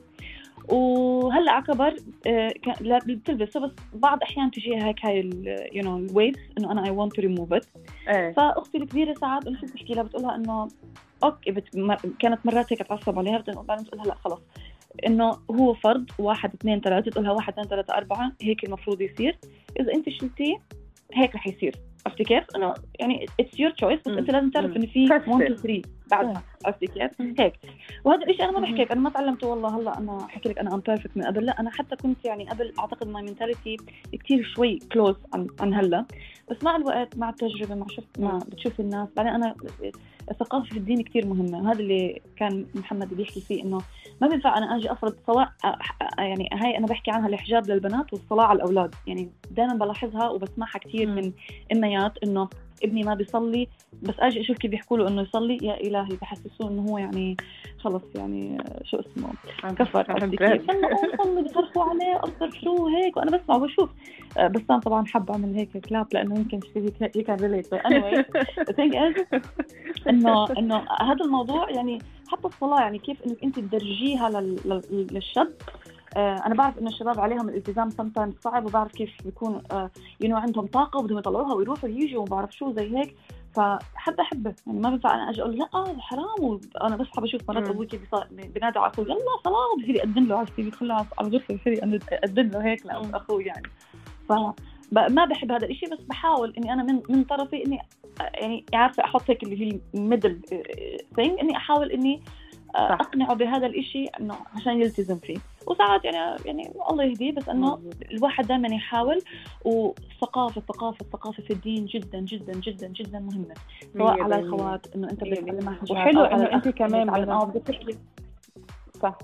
وهلا عكبر آه، لا بتلبسه، بس بعض احيان تجيها هيك هاي يو نو الويفز انه انا اي ونت تو ريموف ات. ايه. فاختي الكبيره ساعات قلت بتحكي لها بتقولها انه اوكي بت... مر... كانت مرات هيك تعصب عليها، بعدين بتقولها لا خلص انه هو فرض واحد اثنين ثلاثه، تقولها واحد اثنين ثلاثه اربعه هيك المفروض يصير، اذا انت شلتيه هيك رح يصير، عرفتي كيف؟ انه يعني اتس يور تشويس، بس مم. انت لازم تعرف مم. انه في Trust واحد it. اثنين ثلاثة بعدها، عرفتي كيف؟ هيك. وهذا الشيء انا ما بحكي لك، انا ما تعلمته والله هلا انا احكي لك انا ام بيرفكت من قبل، لا انا حتى كنت يعني قبل اعتقد ماي منتاليتي كثير شوي كلوز عن عن هلا، بس مع الوقت مع التجربه مع شفت ما بتشوف الناس، بعدين انا الثقافه في الدين كثير مهمه، وهذا اللي كان محمد بيحكي فيه انه ما بينفع انا اجي افرض سواء يعني هاي انا بحكي عنها الحجاب للبنات والصلاه على الاولاد، يعني دائما بلاحظها وبسمعها كثير من اميات انه ابني ما بيصلي، بس اجي اشوف كيف بيحكوا له انه يصلي، يا الهي بحسسوه انه هو يعني خلص يعني شو اسمه كفر، عرفتي كيف؟ انه صلي بيصرفوا عليه اكثر شو هيك، وانا بسمع وبشوف، بس انا طبعا حب اعمل هيك كلاب لانه يمكن شيء كان ريليت. anyway the thing is انه انه هذا الموضوع يعني حتى الصلاه، يعني كيف انك انت تدرجيها للشاب. أنا بعرف إن الشباب عليهم الالتزام sometimes صعب، وبعرف كيف بيكون يو نو عندهم طاقة وبدهم يطلعوها ويروحوا ويجوا وما بعرف شو زي هيك، فحب احبه يعني ما بنفع انا اجي اقول لا آه حرام. وانا بس حابه اشوف مرات ابوي كيف بينادي على اخوي يلا صلاه بصير يقدم له على السي في يدخل على الغرفه بصير يقدم له هيك لاخوي يعني. ف ما بحب هذا الاشي، بس بحاول اني انا من من طرفي اني يعني عارفه احط هيك اللي هي ميدل ثينج، اني احاول اني اقنعه بهذا الاشي انه عشان يلتزم فيه. وساعات يعني يعني الله يهديه، بس انه الواحد دائما يحاول. وثقافه ثقافه ثقافه في الدين جدا جدا جدا جدا مهمه، سواء على الخوات انه انت بتعلمها حاجات، وحلو انه انت كمان اه بتحكي صح.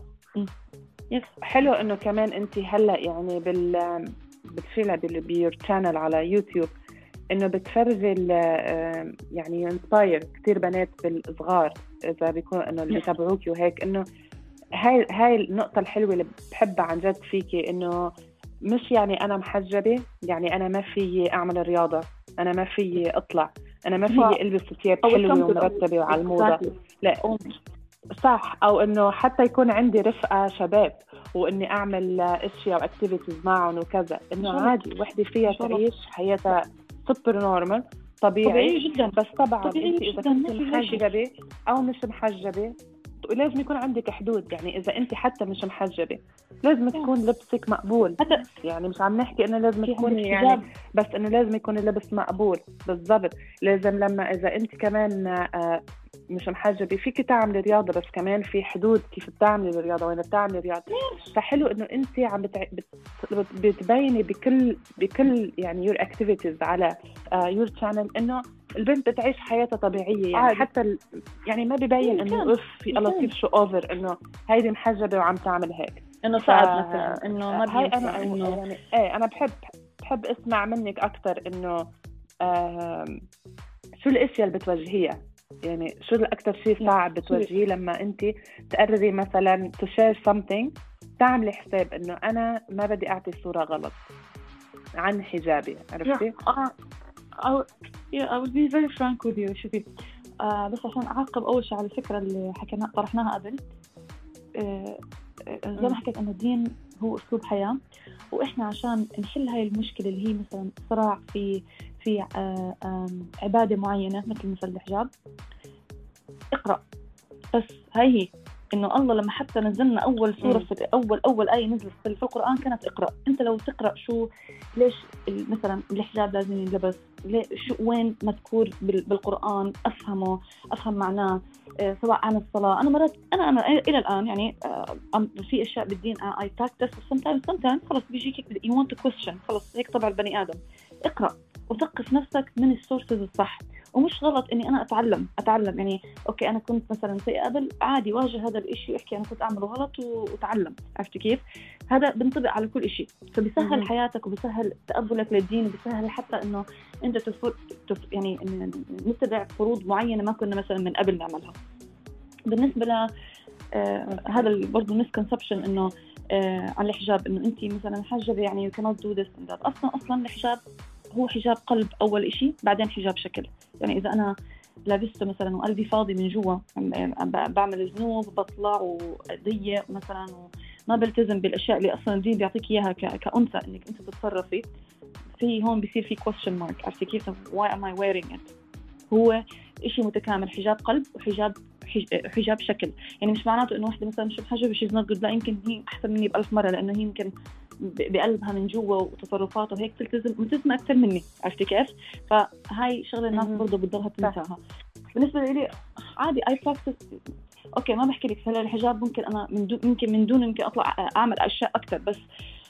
يس حلو انه كمان انت هلا يعني بال بتفيلها بالبيور شانل على يوتيوب انه بتفرجي يعني ينسباير كثير بنات بالصغار اذا بيكون انه اللي بيتابعوكي وهيك، انه هاي هاي النقطه الحلوه اللي بحبها عن جد فيكي، انه مش يعني انا محجبه يعني انا ما في اعمل رياضه، انا ما في اطلع، انا ما في البس ثياب حلوه ومرتبه وعلى الموضه، لا صح. او انه حتى يكون عندي رفقه شباب واني اعمل اشياء واكتيفيتيز معهم وكذا، انه عادي وحده فيها تعيش حياتها سوبر نورمال طبيعي, طبيعي جدا. بس طبعا انت اذا كنت محجبه او مش محجبه لازم يكون عندك حدود. يعني اذا انت حتى مش محجبه لازم تكون لبسك مقبول، حتى يعني مش عم نحكي انه لازم تكون يعني بس انه لازم يكون اللبس مقبول بالضبط. لازم لما اذا انت كمان آه مش محجبه فيك تعملي رياضه، بس كمان في حدود كيف بتعملي الرياضه وين بتعملي رياضه. فحلو انه انت عم بتع... بت... بتبيني بكل بكل يعني يور اكتيفيتيز على يور uh, شانل انه البنت بتعيش حياتها طبيعيه يعني عادي. حتى ال... يعني ما ببين انه اف في لطيف شو اوفر انه هيدي محجبه وعم تعمل هيك انه صعب ف... مثلا انه ما هاي انا انه يعني ايه انا بحب بحب اسمع منك اكثر انه آه... شو الاشياء اللي بتوجهيها، يعني شو الأكثر شيء صعب بتواجهيه لما أنت تقرري مثلا to share something تعملي حساب إنه أنا ما بدي أعطي صورة غلط عن حجابي، عرفتي؟ yeah, uh, I, yeah, I will be very frank with you. شوفي uh, بس عشان أعقب أول شيء على الفكرة اللي حكينا طرحناها قبل، uh, زي ما حكيت إنه الدين هو أسلوب حياة، وإحنا عشان نحل هاي المشكلة اللي هي مثلا صراع في في عبادة معينة مثل مثل الحجاب، اقرأ بس. هاي هي إنه الله لما حتى نزلنا أول سورة في أول أول آية نزلت في القرآن كانت اقرأ. أنت لو تقرأ شو ليش مثلا الحجاب لازم ينلبس، شو وين مذكور بالقرآن، أفهمه أفهم معناه، سواء عن الصلاة. أنا مرات أنا أنا إلى الآن يعني في أشياء بالدين I practice sometimes sometimes خلاص بيجيك you want to question، خلاص هيك طبع البني آدم. اقرأ وثقف نفسك من السورسز الصح. ومش غلط اني انا اتعلم اتعلم يعني اوكي انا كنت مثلا سيئة قبل، عادي واجه هذا الاشي واحكي انا كنت اعمله غلط واتعلم. عرفتي كيف؟ هذا بنطبق على كل اشي، فبيسهل حياتك وبيسهل تقبلك للدين، وبيسهل حتى انه انت تفر... تف... يعني نتبع فروض معينة ما كنا مثلا من قبل نعملها. بالنسبة ل آه هذا برضه مسكونسبشن انه آه عن الحجاب انه انت مثلا حجبة يعني you cannot do this and that. اصلا اصلا الحجاب هو حجاب قلب أول إشي، بعدين حجاب شكل. يعني إذا أنا لابسته مثلا وقلبي فاضي من جوا بعمل ذنوب بطلع وضيق مثلا وما بلتزم بالأشياء اللي أصلا الدين بيعطيك إياها كأنثى إنك أنت تتصرفي في، هون بيصير في question mark. عرفتي كيف؟ why am I wearing it؟ هو إشي متكامل، حجاب قلب وحجاب حجاب شكل. يعني مش معناته إنه واحدة مثلا مش محجبة she's not good، لا يمكن هي أحسن مني بألف مرة، لأنه هي يمكن بقلبها من جوا وتصرفاتها وهيك تلتزم ملتزمة أكثر مني. عرفتي كيف؟ فهاي شغلة الناس برضه بتضلها تنساها. بالنسبة لي عادي I practice. أوكي ما بحكي لك هلا الحجاب ممكن أنا من دون ممكن من دون ممكن أطلع أعمل أشياء أكثر، بس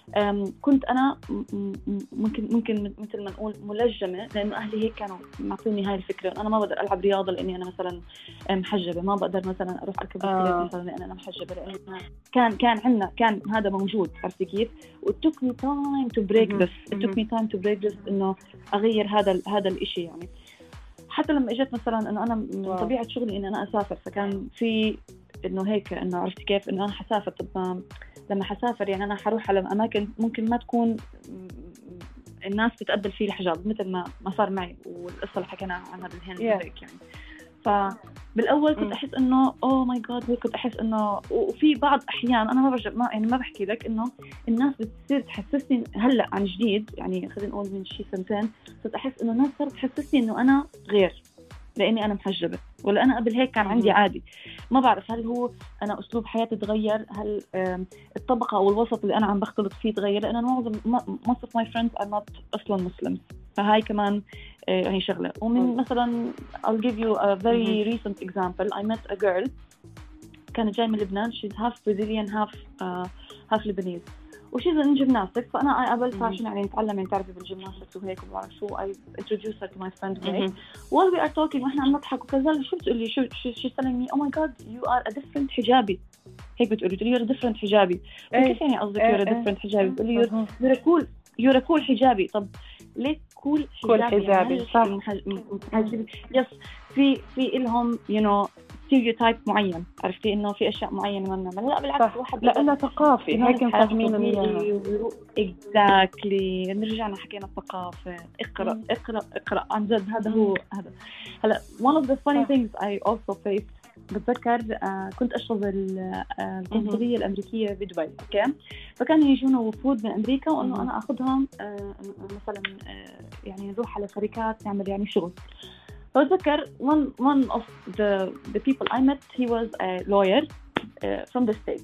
كنت أنا ممكن ممكن مثل ما نقول ملجمة، لأنه أهلي هيك كانوا معطوني هاي الفكرة. أنا ما بقدر ألعب رياضة لأني أنا مثلا محجبة، ما بقدر مثلا أروح أركب بسكليت مثلا لأن أنا محجبة، لأن كان كان عندنا كان هذا موجود. عرفتي كيف؟ it took me time to break this it took me time to break this إنه أغير هذا هذا الإشي. يعني حتى لما إجت مثلا إنه أنا من طبيعة شغلي إن أنا أسافر، فكان في إنه هيك إنه عرفتي كيف إنه أنا حسافر. طب لما حسافر يعني أنا حروح على أماكن ممكن ما تكون الناس تتقبل فيه الحجاب مثل ما ما صار معي، والقصة اللي حكينا عنها بالهند yeah. هيك يعني. فبالأول كنت أحس إنه أوه ماي جاد، كنت أحس إنه، وفي بعض أحيان أنا ما برجع ما يعني ما بحكي لك إنه الناس بتصير تحسسني هلأ عن جديد، يعني خلينا نقول من شي سنتين صرت أحس إنه الناس صارت تحسسني إنه أنا غير. لاني انا محجبه، ولا انا قبل هيك كان عندي عادي. ما بعرف هل هو انا اسلوب حياتي تغير، هل الطبقه او الوسط اللي انا عم بختلط فيه تغير، لان معظم most of my friends are not اصلا مسلم، فهاي كمان يعني شغله. ومن مثلا I'll give you a very recent example. I met a girl كانت جاي من لبنان. she's half Brazilian half uh, half Lebanese وشيء من جيمناستكس. فأنا قابلتها عشان يعني نتعلم يعني تعرفي بالجيمناستكس وهيك وبعرف شو. I introduced her to my friend وهيك. while we are talking وإحنا عم نضحك وكذا شو بتقولي شو she's telling me oh my god you are a different حجابي. هيك بتقولي تقولي you're a different حجابي. كيف يعني قصدك you're a different حجابي؟ بتقولي you're a cool you're a cool حجابي. طب ليه cool حجابي؟ حجابي صح. يس في في إلهم you know stereotype معين، عرفتي إنه في أشياء معينة ما بنعملها. لا بالعكس واحد لأنه ثقافي هيك نفهمينه منها. exactly. نرجعنا حكينا الثقافة. اقرأ اقرأ اقرأ عن جد. هذا هو هذا. هلا one of the funny things I also faced بتذكر آه كنت أشتغل آه القنصلية الأمريكية بدبي. أوكي فكانوا يجونا وفود من أمريكا وإنه أنا أخذهم آه مثلا آه يعني نروح على شركات نعمل يعني شغل. فأتذكر one one of the the people I met he was a lawyer uh, from the States.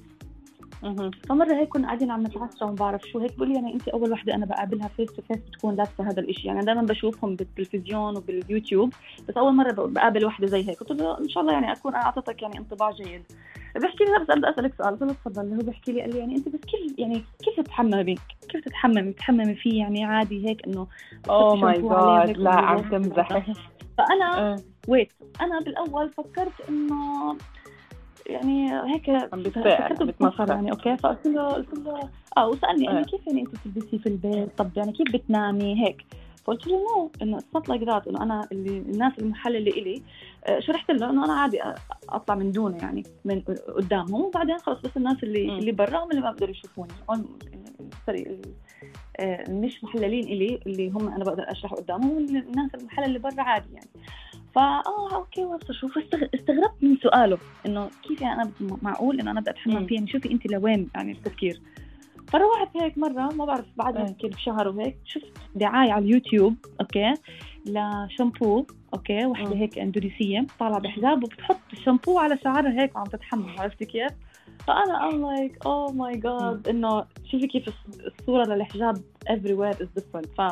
فمرة هيك كنا قاعدين عم نتعشى وما بعرف شو هيك بقول لي يعني أنت أول واحدة أنا بقابلها فيس تو فيس بتكون لابسة هذا الإشي. يعني دائما بشوفهم بالتلفزيون وباليوتيوب بس أول مرة بقابل واحدة زي هيك. قلت له إن شاء الله يعني أكون أعطيتك يعني انطباع جيد. بحكي لي بس أبدأ أسألك سؤال. قلت له تفضل. هو بحكي لي قال لي يعني أنت بس كيف يعني كيف تتحممي بك كيف تتحممي تتحممي فيه يعني عادي هيك إنه أوه ماي جاد لا عم تمزح. فأنا ويت أنا بالأول فكرت إنه يعني هيك فكرت بتمسخر يعني أوكي. فقلت له قلت له آه وسألني قال لي كيف يعني أنت بتلبسي في البيت؟ طب يعني كيف بتنامي هيك؟ فقلت له نو إنه it's not like that. إنه أنا اللي الناس المحل اللي إلي شرحت له إنه أنا عادي أطلع من دونه يعني من قدامهم وبعدين خلاص بس الناس اللي م. اللي برا هم اللي ما بقدروا يشوفوني. سوري مش محللين إلي اللي هم أنا بقدر أشرح قدامهم والناس المحل اللي برا عادي يعني. فآه أوكي وصل. شوف استغربت من سؤاله إنه كيف يعني أنا معقول إنه أنا بدي أتحمم فيه يعني شوفي أنت لوين يعني التفكير. فروحت هيك مرة ما بعرف بعدها يمكن بشهر وهيك شفت دعاية على اليوتيوب أوكي لشامبو أوكي واحدة هيك إندونيسية طالعة بحجاب وبتحط الشامبو على شعرها هيك وعم تتحمم. عرفتي كيف؟ فأنا I'm like oh my god إنه شوفي كيف الصورة للحجاب everywhere is different. ف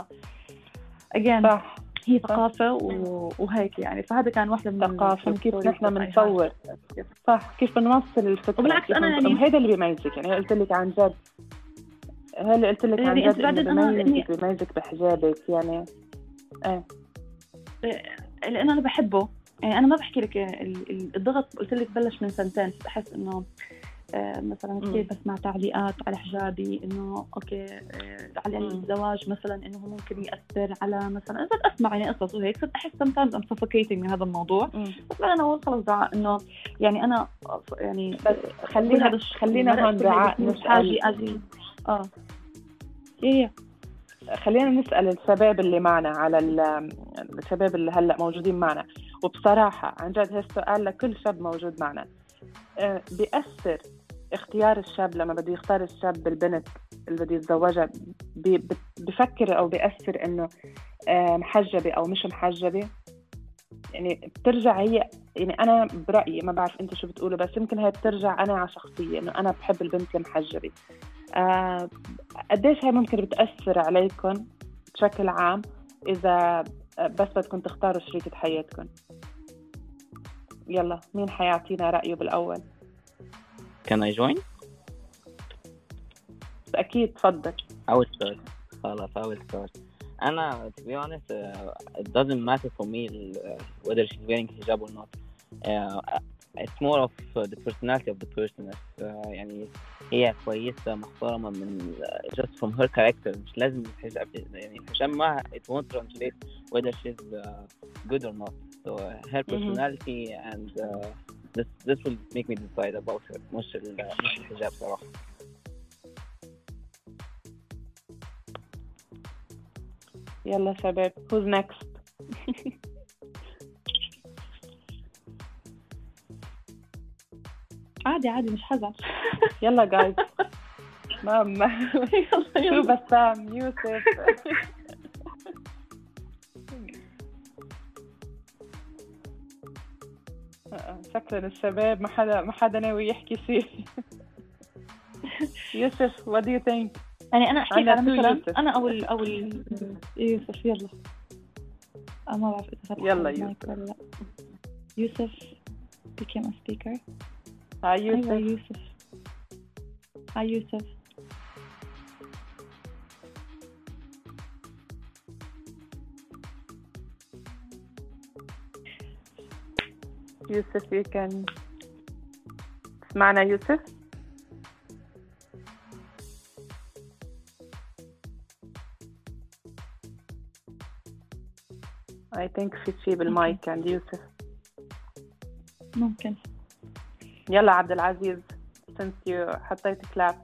again صح. هي ثقافة وهيك يعني. فهذا كان واحدة من الثقافة كيف نحن بنصور صح كيف بنوصل الفكرة. وبالعكس أنا يعني هذا اللي بيميزك يعني قلت لك عن جد هذا اللي قلت لك عن جد اللي بيميزك بيميزك بحجابك يعني ايه لأن أنا بحبه يعني. أنا ما بحكي لك الضغط قلت لك بلش من سنتين. بحس إنه مثلا كيف بسمع تعليقات على حجابي انه اوكي على الزواج مثلا انه ممكن ياثر على مثلا صرت اسمع يعني قصص وهيك صرت احس sometimes I'm suffocating من هذا الموضوع. بس انا اقول خلص دعاء انه يعني انا يعني خلينا خلينا هون دعاء نسال اجي اه ايه خلينا نسال الشباب اللي معنا على الشباب اللي هلا موجودين معنا. وبصراحه عن جد هالسؤال لكل شاب موجود معنا. بيأثر اختيار الشاب لما بده يختار الشاب البنت اللي بده يتزوجها بفكر أو بيأثر إنه محجبة أو مش محجبة يعني بترجع هي يعني أنا برأيي ما بعرف أنت شو بتقوله بس يمكن هي بترجع أنا على شخصية إنه أنا بحب البنت المحجبة. أه قديش هي ممكن بتأثر عليكم بشكل عام إذا بس بدكم تختاروا شريكة حياتكم؟ يلا مين حيعطينا رأيه بالأول؟ Can I join? أكيد تفضل. I will start. خلاص I will start. أنا to be honest uh, it doesn't matter for me uh, whether she's wearing hijab or not. Uh, it's more of uh, the personality of the person. uh, يعني هي كويسة محترمة من uh, just from her character. مش لازم الحجاب يعني الحجاب ما it won't translate whether she's uh, good or not. So uh, her personality mm-hmm. and uh, this this will make me decide about her. مش مش الحجاب صراحة. يلا شباب who's next؟ عادي عادي مش حزن. يلا جايز. ماما شو بسام يوسف. شكرا الشباب ما حدا ما حدا ناوي يحكي شيء. يوسف what do you think؟ يعني أنا أحكي عندنا على تو مثلا يوسف. أنا أو ال أو ال يوسف يلا. أنا ما بعرف إذا فتح يلا المايك يوسف. ولا لا. يوسف became a speaker. هاي أيوة يوسف. يوسف. هاي يوسف. يوسف you can تسمعنا يوسف؟ I think في شيء بالمايك عند يوسف. ممكن. يلا عبد العزيز since you حطيت كلاب.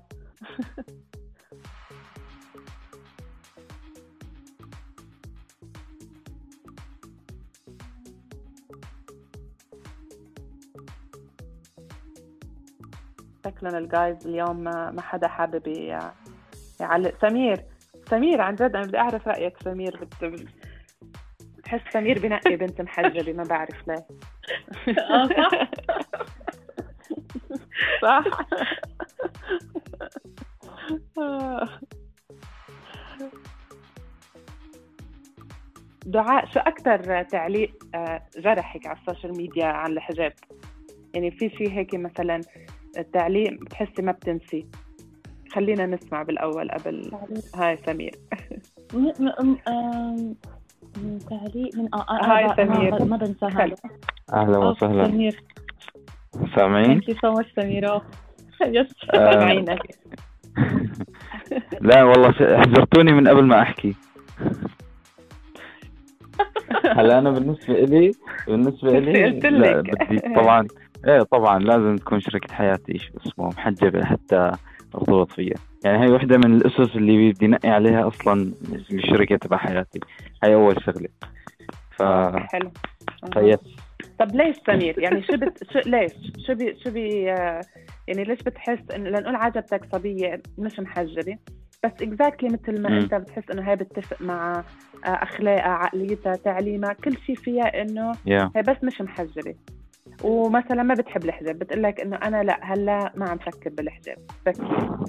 شكلنا الجايز اليوم ما ما حدا حابب ي- يعلق. سمير سمير عن جد أنا بدي أعرف رأيك. سمير بت... بتحس سمير بنقي بنت محجبة ما بعرف ليه. آه صح. صح. دعاء شو أكتر تعليق آه، جرحك على السوشيال ميديا عن الحجاب؟ يعني في شيء هيك مثلا التعليق بتحسي ما بتنسي؟ خلينا نسمع بالأول قبل هاي سمير. م- م- آم، من تعليق من آه آه هاي آه سمير. آه، ما بنساها. خلو. أهلا أوه، وسهلا. سمير. سامعين؟ Thank you so much سمير. أوه. يس. آه، سامعينك. لا والله س- حذرتوني من قبل ما أحكي. هلا أنا بالنسبة إلي بالنسبة إلي قلت لا لك. بدي طبعا إيه طبعا لازم تكون شريكة حياتي شو اسمه محجبة حتى ارتبط فيها. يعني هاي وحدة من الأسس اللي بدي نقي عليها أصلا الشركة تبع حياتي. هاي أول شغلة. ف حلو. فيس طب ليش سمير؟ يعني شو بت... شو ليش شو بي... شو بي... آه، يعني ليش بتحس إن لنقول عجبتك صبية مش محجبة بس exactly مثل ما مم. أنت بتحس إنه هي بتتفق مع آه، أخلاقها عقليتها تعليمها كل شيء فيها إنه يا هي بس مش محجبة ومثلا ما بتحب الحجاب بتقلك إنه أنا لا هلا ما عم فكر بالحجاب بس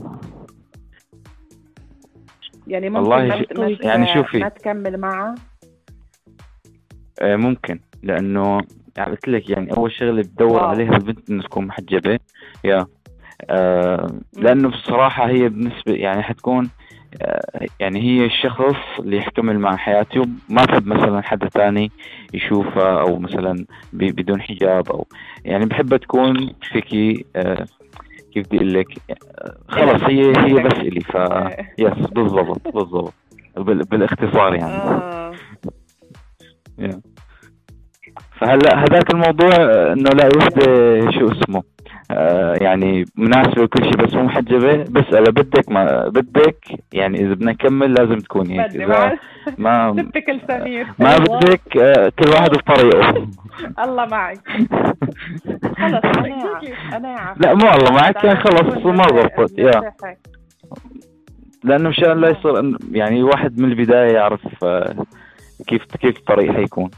يعني ممكن والله ما, شو- ت- ما ت- يعني شوفي. ما تكمل معها. آه، ممكن لأنه يعني قلت لك يعني أول شغلة بدور واو. عليها البنت إنه تكون محجبة. يا آه لأنه بصراحة هي بالنسبة يعني حتكون آه يعني هي الشخص اللي يحتمل مع حياتي وما بحب مثلا حدا تاني يشوفها أو مثلا ب- بدون حجاب أو يعني بحبها تكون فيكي آه كيف بدي أقول لك آه خلص هي هي بس إلي ف يس بالضبط بالضبط بال- بالاختصار يعني. آه. يا. فهلا هذاك الموضوع آه، انه لا وحده شو اسمه آه يعني مناسبه وكل شيء بس مو محجبه بسأله بدك ما بدك يعني اذا بدنا نكمل لازم تكون هيك بدي اذا مع ما تبكل سمير. ما بدك آه كل واحد بطريقه. الله معك. خلص أنا أنا لا مو الله معك كان خلص ما ضبطت يا لانه مشان لا يصير إن- يعني واحد من البدايه يعرف آه كيف كيف الطريق حيكون.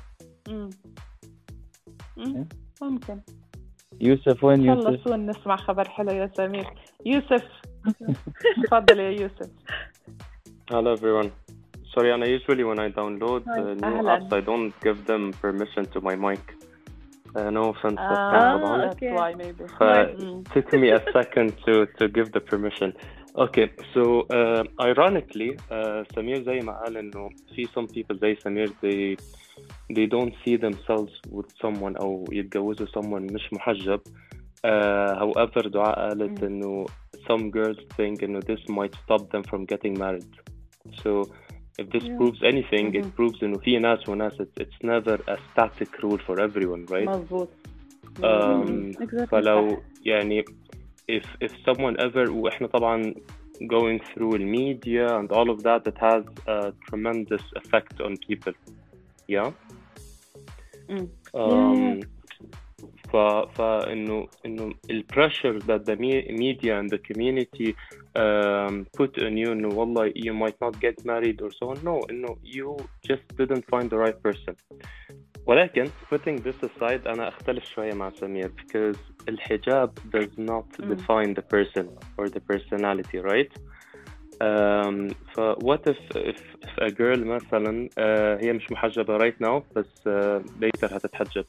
ممكن. يوسف وين يوسف؟ خلصوا نسمع خبر حلو يا سمير. يوسف تفضل يا يوسف. Hello everyone. Sorry, and I usually when I download uh, new أهلاً. apps, I don't give them permission to my mic. Uh, no offense, but آه طبعاً. that's why maybe. Uh, it took me a second to to give the permission. Okay, so uh, ironically, uh, Samir زي ما قال إنه في some people زي سمير they they don't see themselves with someone أو يتجوزوا someone مش محجب. Uh, however, دعاء قالت إنه some girls think إنه this might stop them from getting married. So if this Yeah. proves anything, Mhm. it proves إنه في ناس وناس it's, it's never a static rule for everyone, right? مظبوط. Um, Exactly. فلو يعني if if someone ever وإحنا طبعا going through the media and all of that, it has a tremendous effect on people. Yeah. Mm. Um, ف فإنه إنه ال pressure that the me- media and the community um, put on you إنه والله you might not get married or so on. No, إنه you just didn't find the right person. ولكن putting this aside أنا أختلف شوية مع سمير because الحجاب does not define the person or the personality, right? Um, ف what if, if, if a girl مثلا uh, هي مش محجبة right now بس uh, later هتتحجب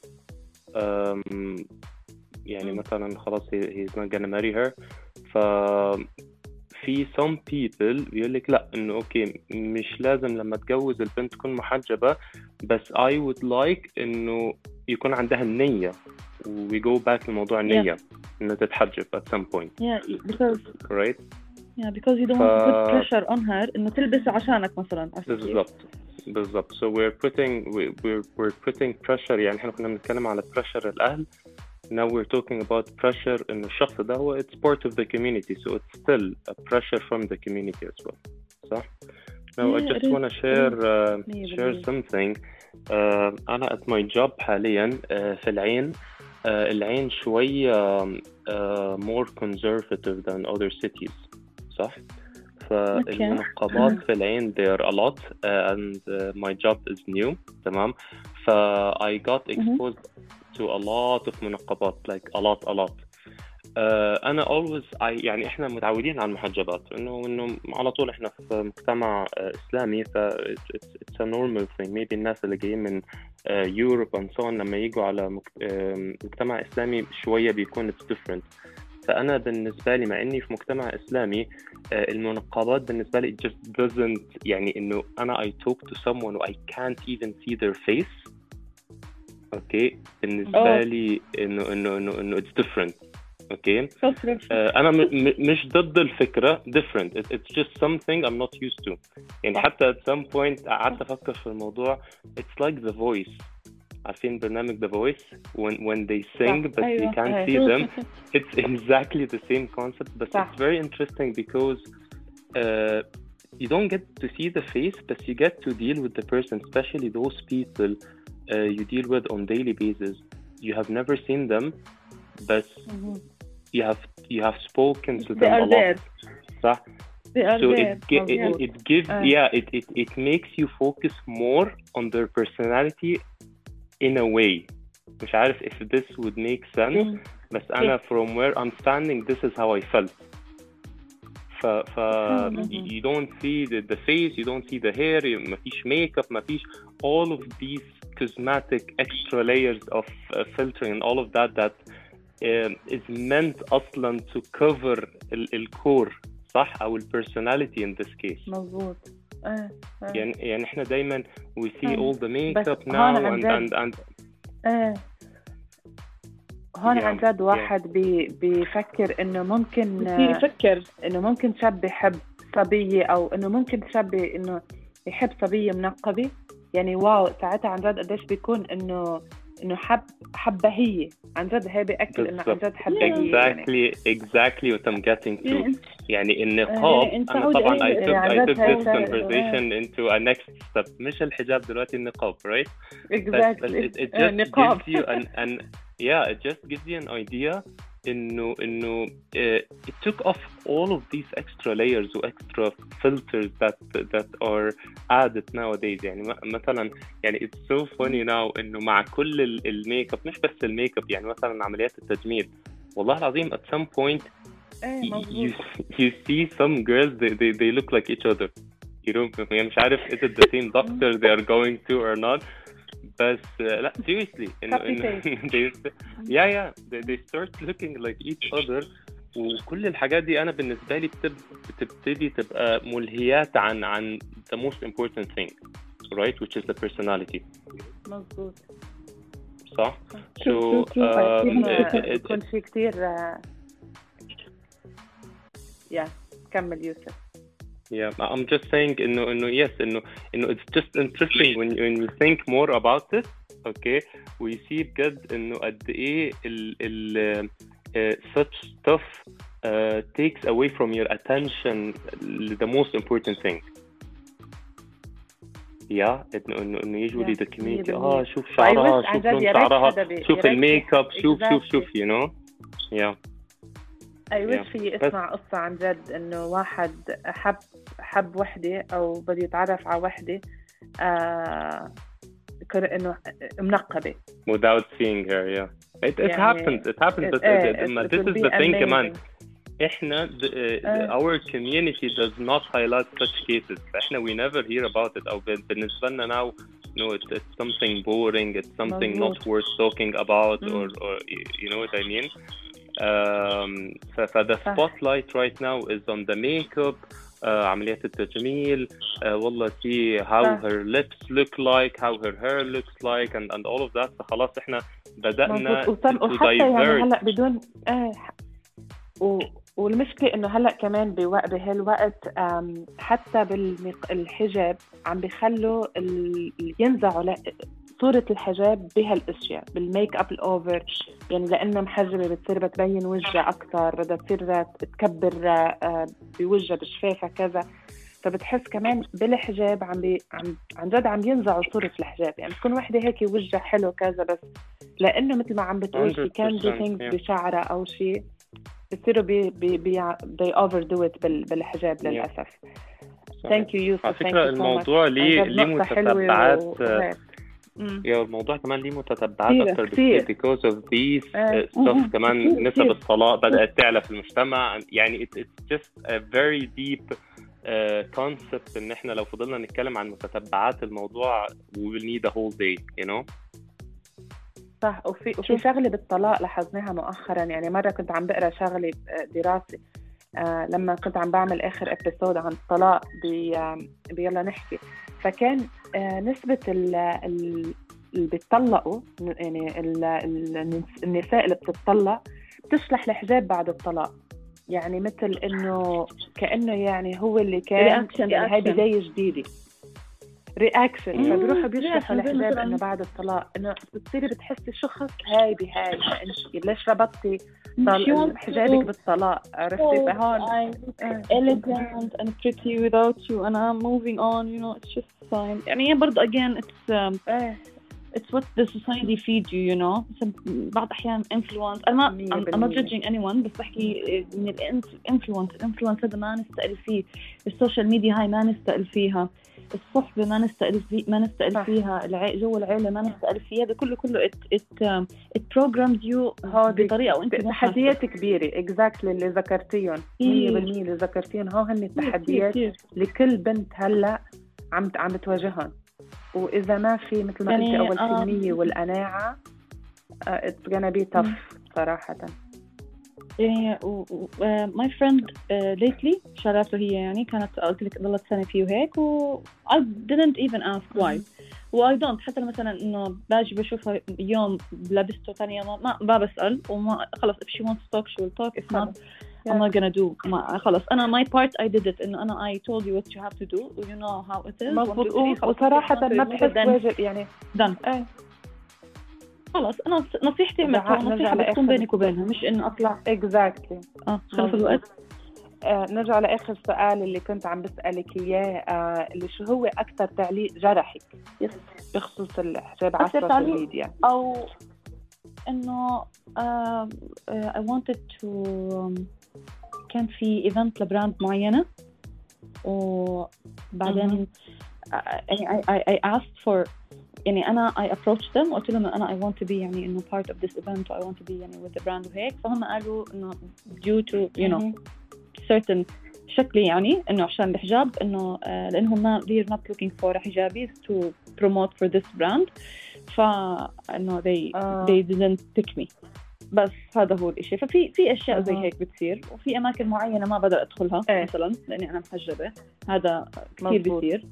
um, يعني مثلا خلاص he, he's not gonna marry her. ف في some people بيقولك لا إنه أوكي مش لازم لما تجوز البنت تكون محجبة بس I would like إنه يكون عندها النية و we go back لموضوع النية Yeah. إنه تتحجب at some point, Yeah, because right? yeah, because you don't ف... want to put pressure on her إنه تلبس عشانك مثلاً. بالضبط بالضبط. So we're putting we, we're we're putting pressure. يعني إحنا كنا بنتكلم على pressure الأهل. Now we're talking about pressure إنه الشخص ده هو it's part of the community, so it's still a pressure from the community as well. صح؟ Now Yeah, I just it want to is. share uh, Yeah, share yeah. something. uh, أنا at my job حاليا uh, في العين. uh, العين شوية uh, more conservative than other cities. صح؟ فالمنقبات في العين there are a lot uh, and uh, my job is new. تمام. ف I got exposed to a lot of منقبات, like a lot a lot. uh, أنا always I يعني إحنا متعودين على المحجبات إنه إنه على طول إحنا في مجتمع uh, إسلامي ف it's, it's, it's a normal thing. Maybe الناس اللي جايين من uh, Europe and so on لما يجوا على مك... uh, مجتمع إسلامي شوية بيكون it's different. فأنا بالنسبة لي مع إني في مجتمع إسلامي المنقبات بالنسبة لي it just doesn't يعني إنه أنا I talk to someone I can't even see their face. أوكي بالنسبة Oh. لي إنه إنه إنه إنه it's different. أوكي So different. أنا م- م- مش ضد الفكرة different. It, it's just something I'm not used to. يعني حتى at some point قعدت أفكر في الموضوع. It's like the voice. عارفين برنامج The Voice when when they sing but you can't see them. It's exactly the same concept, but صح. it's very interesting because uh, you don't get to see the face, but you get to deal with the person, especially those people uh, you deal with on daily basis. You have never seen them, but Mhm. you have you have spoken to They them are a lot. there. صح? They are So there. it, gi- Yeah. it it gives Uh. yeah it, it it makes you focus more on their personality in a way. مش عارف if this would make sense. Mm. بس أنا from where I'm standing this is how I felt. ف ف Mm-hmm. you don't see the, the face, you don't see the hair, مفيش makeup, مفيش all of these cosmetic extra layers of uh, filtering and all of that that um, is meant أصلا to cover ال, ال core صح أو ال personality in this case. مظبوط. آه. آه. يعني يعني إحنا دايما we see آه. all the makeup بس now هون عن and جد- and and ايه هون Yeah, عن جد yeah. واحد بي بيفكر انه ممكن بصير يفكر. انه ممكن شاب يحب صبية او انه ممكن شاب انه يحب صبية منقبة. يعني واو ساعتها عن جد قديش بيكون انه انه حب حبة هي عن جد. هي بيأكد انه عن جد حبة هي يعني. exactly exactly what I'm getting to. يعني يعني النقاب يعني أنت أنا عاود طبعا I أي- took, يعني I عن took جد هاي this سهلة. conversation into a next step. مش الحجاب دلوقتي النقاب right but, but exactly it, it آه، just نقاب. gives you an, an yeah it just gives you an idea إنه إنه uh, it took off all of these extra layers و extra filters that that are added nowadays. يعني م- مثلا يعني it's so funny now إنه مع كل ال- الميك اب مش بس الميك اب يعني مثلا عمليات التجميل والله العظيم at some point ايه you, مظبوط. you see some girls they, they, they look like each other. You know يعني مش عارف is it the same doctor they are going to or not بس uh, لا seriously إنه Copy إنه they yeah yeah they, they start looking like each other. وكل الحاجات دي أنا بالنسبة لي بتب, بتبتدي تبقى ملهيات عن عن the most important thing right which is the personality. مظبوط. صح؟ True, so true, true. um, بيكون it, it, it, بيكون في كتير يا كمل يوسف. Yeah, I'm just saying إنه إنه yes إنه إنه it's just interesting when you, when you think more about it. Okay, we see بجد إنه قد إيه ال ال uh, such stuff uh, takes away from your attention the most important thing. Yeah, إنه إنه إنه usually the community آه شوف شعرها wish عن شوف جد لون يا ريت شعرها حدا بي- شوف يا ريت الميك اب شوف شوف exactly. شوف you know yeah. أي وش Yeah. في بس- اسمع قصة عن جد إنه واحد حب حب وحدة أو بده يتعرف على وحدة آه إنه منقبة without seeing her. Yeah, it it يعني happens. It happens. But it, uh, it, this it is will the be thing, amazing. كمان إحنا the, uh, uh, our community does not highlight such cases. إحنا we never hear about it. أو بالنسبة لنا now, no, it's, it's something boring. It's something مزبوط. not worth talking about, mm. or, or you know what I mean. Um, so, so the spotlight right now is on the makeup, uh, عمليات التجميل, uh, والله see how صح. her lips look like, how her hair looks like, and and all of that. فخلاص إحنا بدأنا مزبوط. to وحتى يعني divert. هلا بدون آه و... والمشكلة إنه هلا كمان بوقت بهالوقت حتى بالحجاب عم بيخلوا ال... ينزعوا ل... صورة الحجاب بهالاشياء بالميك اب الاوفر، يعني لانها محجبة بتصير بتبين وجهها اكثر، بدها تصير تكبر بوجهها بشفافها كذا، فبتحس كمان بالحجاب عم بي عم عن جد عم ينزعوا صورة الحجاب، يعني تكون وحدة هيك وجهها حلو كذا بس لانه مثل ما عم بتقول في كان دي ثينكس بشعرها او شيء بتصيروا بي بي بي they overdo it بال بالحجاب للاسف. ثانك يو يوسف. على فكرة الموضوع ليه ليه متتبعات و... يا الموضوع كمان ليه متتبعات أكتر بكثير because of these uh, stuff. كمان نسب الطلاق بدأت تعلى في المجتمع، يعني it, it's just a very deep uh, concept إن إحنا لو فضلنا نتكلم عن متتبعات الموضوع we will need a whole day, you know. صح. وفي وفي شغلة بالطلاق لاحظناها مؤخرا، يعني مرة كنت عم بقرأ شغلة دراسة آه لما كنت عم بعمل آخر ابيسود عن الطلاق بي آه بيلا نحكي، فكان آه نسبة اللي بيتطلقوا، يعني ال ال النساء اللي بتتطلق بتشلح الحجاب بعد الطلاق، يعني مثل إنه كأنه يعني هو اللي كان يعني هاي بداية جديدة رياكشن، فبيروحوا بيشلحوا الحجاب إنه بعد الطلاق، إنه بتصيري بتحسي شو خص هاي بهاي، أنت ليش ربطتي حجابك بالطلاق؟ عرفتي؟ فهون elegant and pretty without you and I'm moving on, you know, it's just fine. يعني برضه again it's um, it's what the society feeds you, you know. بعض أحيان influence. أنا ما I'm not judging anyone، بس بحكي من الانفلونس الانفلونس هذا ما نستقل فيه، السوشيال ميديا هاي ما نستقل فيها، الصحبة ما نستقل فيه ما نستقل فيها، الع... جو العيلة ما نستقل فيه، هذا كله كله it it um, it programs you بطريقة وأنت تحديات كبيرة exactly اللي ذكرتيهم مية بالمية اللي ذكرتيهم هو هن التحديات لكل بنت هلا عم عم بتواجههم، وإذا ما في مثل ما يعني قلتي أول الحنية والقناعة uh, it's gonna be tough صراحة. يعني my friend uh, lately شارعته هي يعني كانت قلت لك ضلت سنة فيه وهيك و I didn't even ask why و I don't حتى مثلا إنه باجي بشوفها يوم لابسته ثاني يوم ما ما بسأل وما خلص if she wants to talk she will talk if not yeah. I'm not gonna do ما خلص أنا my part I did it إنه أنا I told you what you have to do you know how it is مضبوط. وصراحة ما بحس واجب يعني done ايه خلاص أنا نصيحتي عملتها نصيحة بتكون بينك وبينها مش إنه أطلع exactly آه خلف الوقت. آه نرجع لآخر سؤال اللي كنت عم بسألك إياه آه اللي شو هو أكثر تعليق جرحك بخصوص الحجاب على السوشيال ميديا؟ أو إنه uh, uh, I wanted to um, كان في إيفنت لبراند معينة وبعدين يعني I, I, I asked for يعني أنا I approached them وقلت لهم أنا I want to be يعني إنه part of this event I want to be يعني with the brand وهيك، فهم قالوا إنه due to you know certain شكلي يعني إنه عشان الحجاب إنه آه لأنهم ما they're not looking for حجابي to promote for this brand، فإنه they uh. they didn't pick me. بس هذا هو الإشي. ففي في أشياء زي هيك بتصير وفي أماكن معينة ما بقدر أدخلها إيه. مثلا لأني أنا محجبة، هذا كثير بيصير.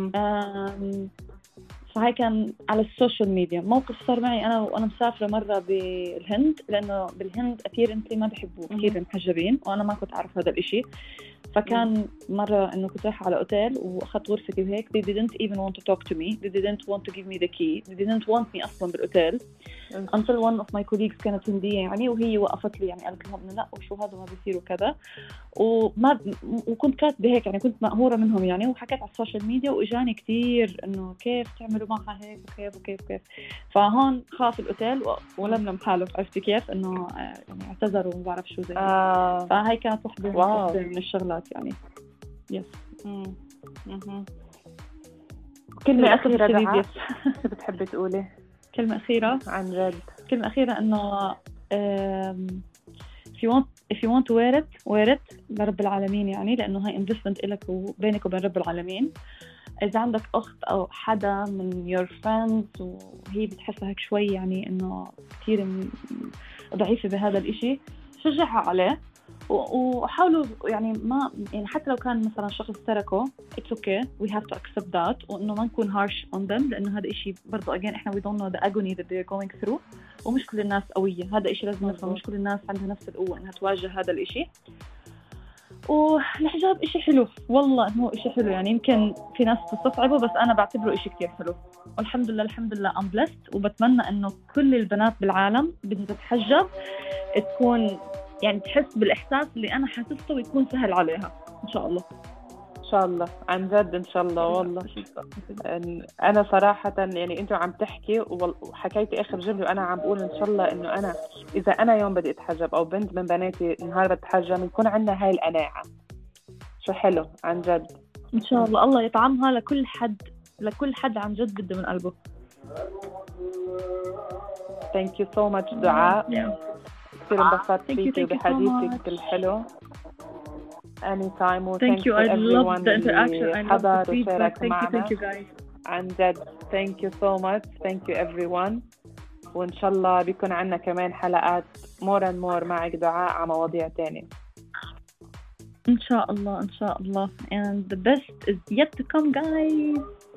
فهاي كان على السوشيال ميديا. موقف صار معي أنا وأنا مسافرة مرة بالهند، لأنه بالهند apparently ما بيحبوا كثير المحجبين وأنا ما كنت أعرف هذا الإشي. فكان مرة إنه كنت رايحة على أوتيل وأخذت غرفتي وهيك they didn't even want to talk to me they didn't want to give me the key they didn't want me أصلاً بالأوتيل until one of my colleagues كانت هندية يعني وهي وقفت لي يعني قالت لهم إنه لا وشو هذا ما بيصير وكذا، وما وكنت كاتبة هيك يعني كنت مقهورة منهم يعني، وحكيت على السوشيال ميديا وإجاني كتير إنه كيف تعملوا معها هيك وكيف وكيف وكيف. فهون خاف الأوتيل ولملم حاله، عرفتي كيف إنه يعني اعتذروا وما بعرف شو زي آه. فهاي كانت واحدة من الشغلات يعني. يس. امم كلمة أخيرة للأسف دعاء الشديد. شو بتحبي تقولي كلمة أخيرة عن جد؟ كلمة أخيرة إنه um, if you want if you want to wear it wear it لرب العالمين، يعني لأنه هاي investment إلك وبينك وبين رب العالمين. إذا عندك أخت أو حدا من your friends وهي بتحسها هيك شوي يعني إنه كتير ضعيفة بهذا الإشي، شجعها عليه وحاولوا يعني ما يعني حتى لو كان مثلا شخص تركه it's okay we have to accept that، وإنه ما نكون harsh on them، لأنه هذا إشي برضو again إحنا we don't know the agony that they're going through، ومش كل الناس قوية. هذا إشي لازم نفهم، مش كل الناس عندها نفس القوة إنها تواجه هذا الإشي. والحجاب إشي حلو والله، إنه إشي حلو يعني يمكن في ناس تستصعبه بس أنا بعتبره إشي كتير حلو، والحمد لله الحمد لله I'm blessed. وبتمنى إنه كل البنات بالعالم بدها تتحجب تكون يعني تحس بالإحساس اللي أنا حاسسته ويكون سهل عليها إن شاء الله. إن شاء الله عن جد إن شاء الله. والله أنا صراحة يعني أنتوا عم تحكي وحكيتي آخر جملة وأنا عم بقول إن شاء الله إنه أنا إذا أنا يوم بدي أتحجب أو بنت من بناتي نهار بتحجب يكون عندنا هاي القناعة. شو حلو عن جد إن شاء الله. الله يطعمها لكل حد لكل حد عن جد بده من قلبه. Thank you so much دعاء. كثير انبسطت فيكي وبحديثك الحلو. Anytime. Thank you. I love the interaction. I love the feedback. Thank you. Thank you guys. عن جد. Thank you so much. Thank you everyone. وإن شاء الله بيكون عنا كمان حلقات more and more معك دعاء على مواضيع تانية. إن شاء الله إن شاء الله. And the best is yet to come guys.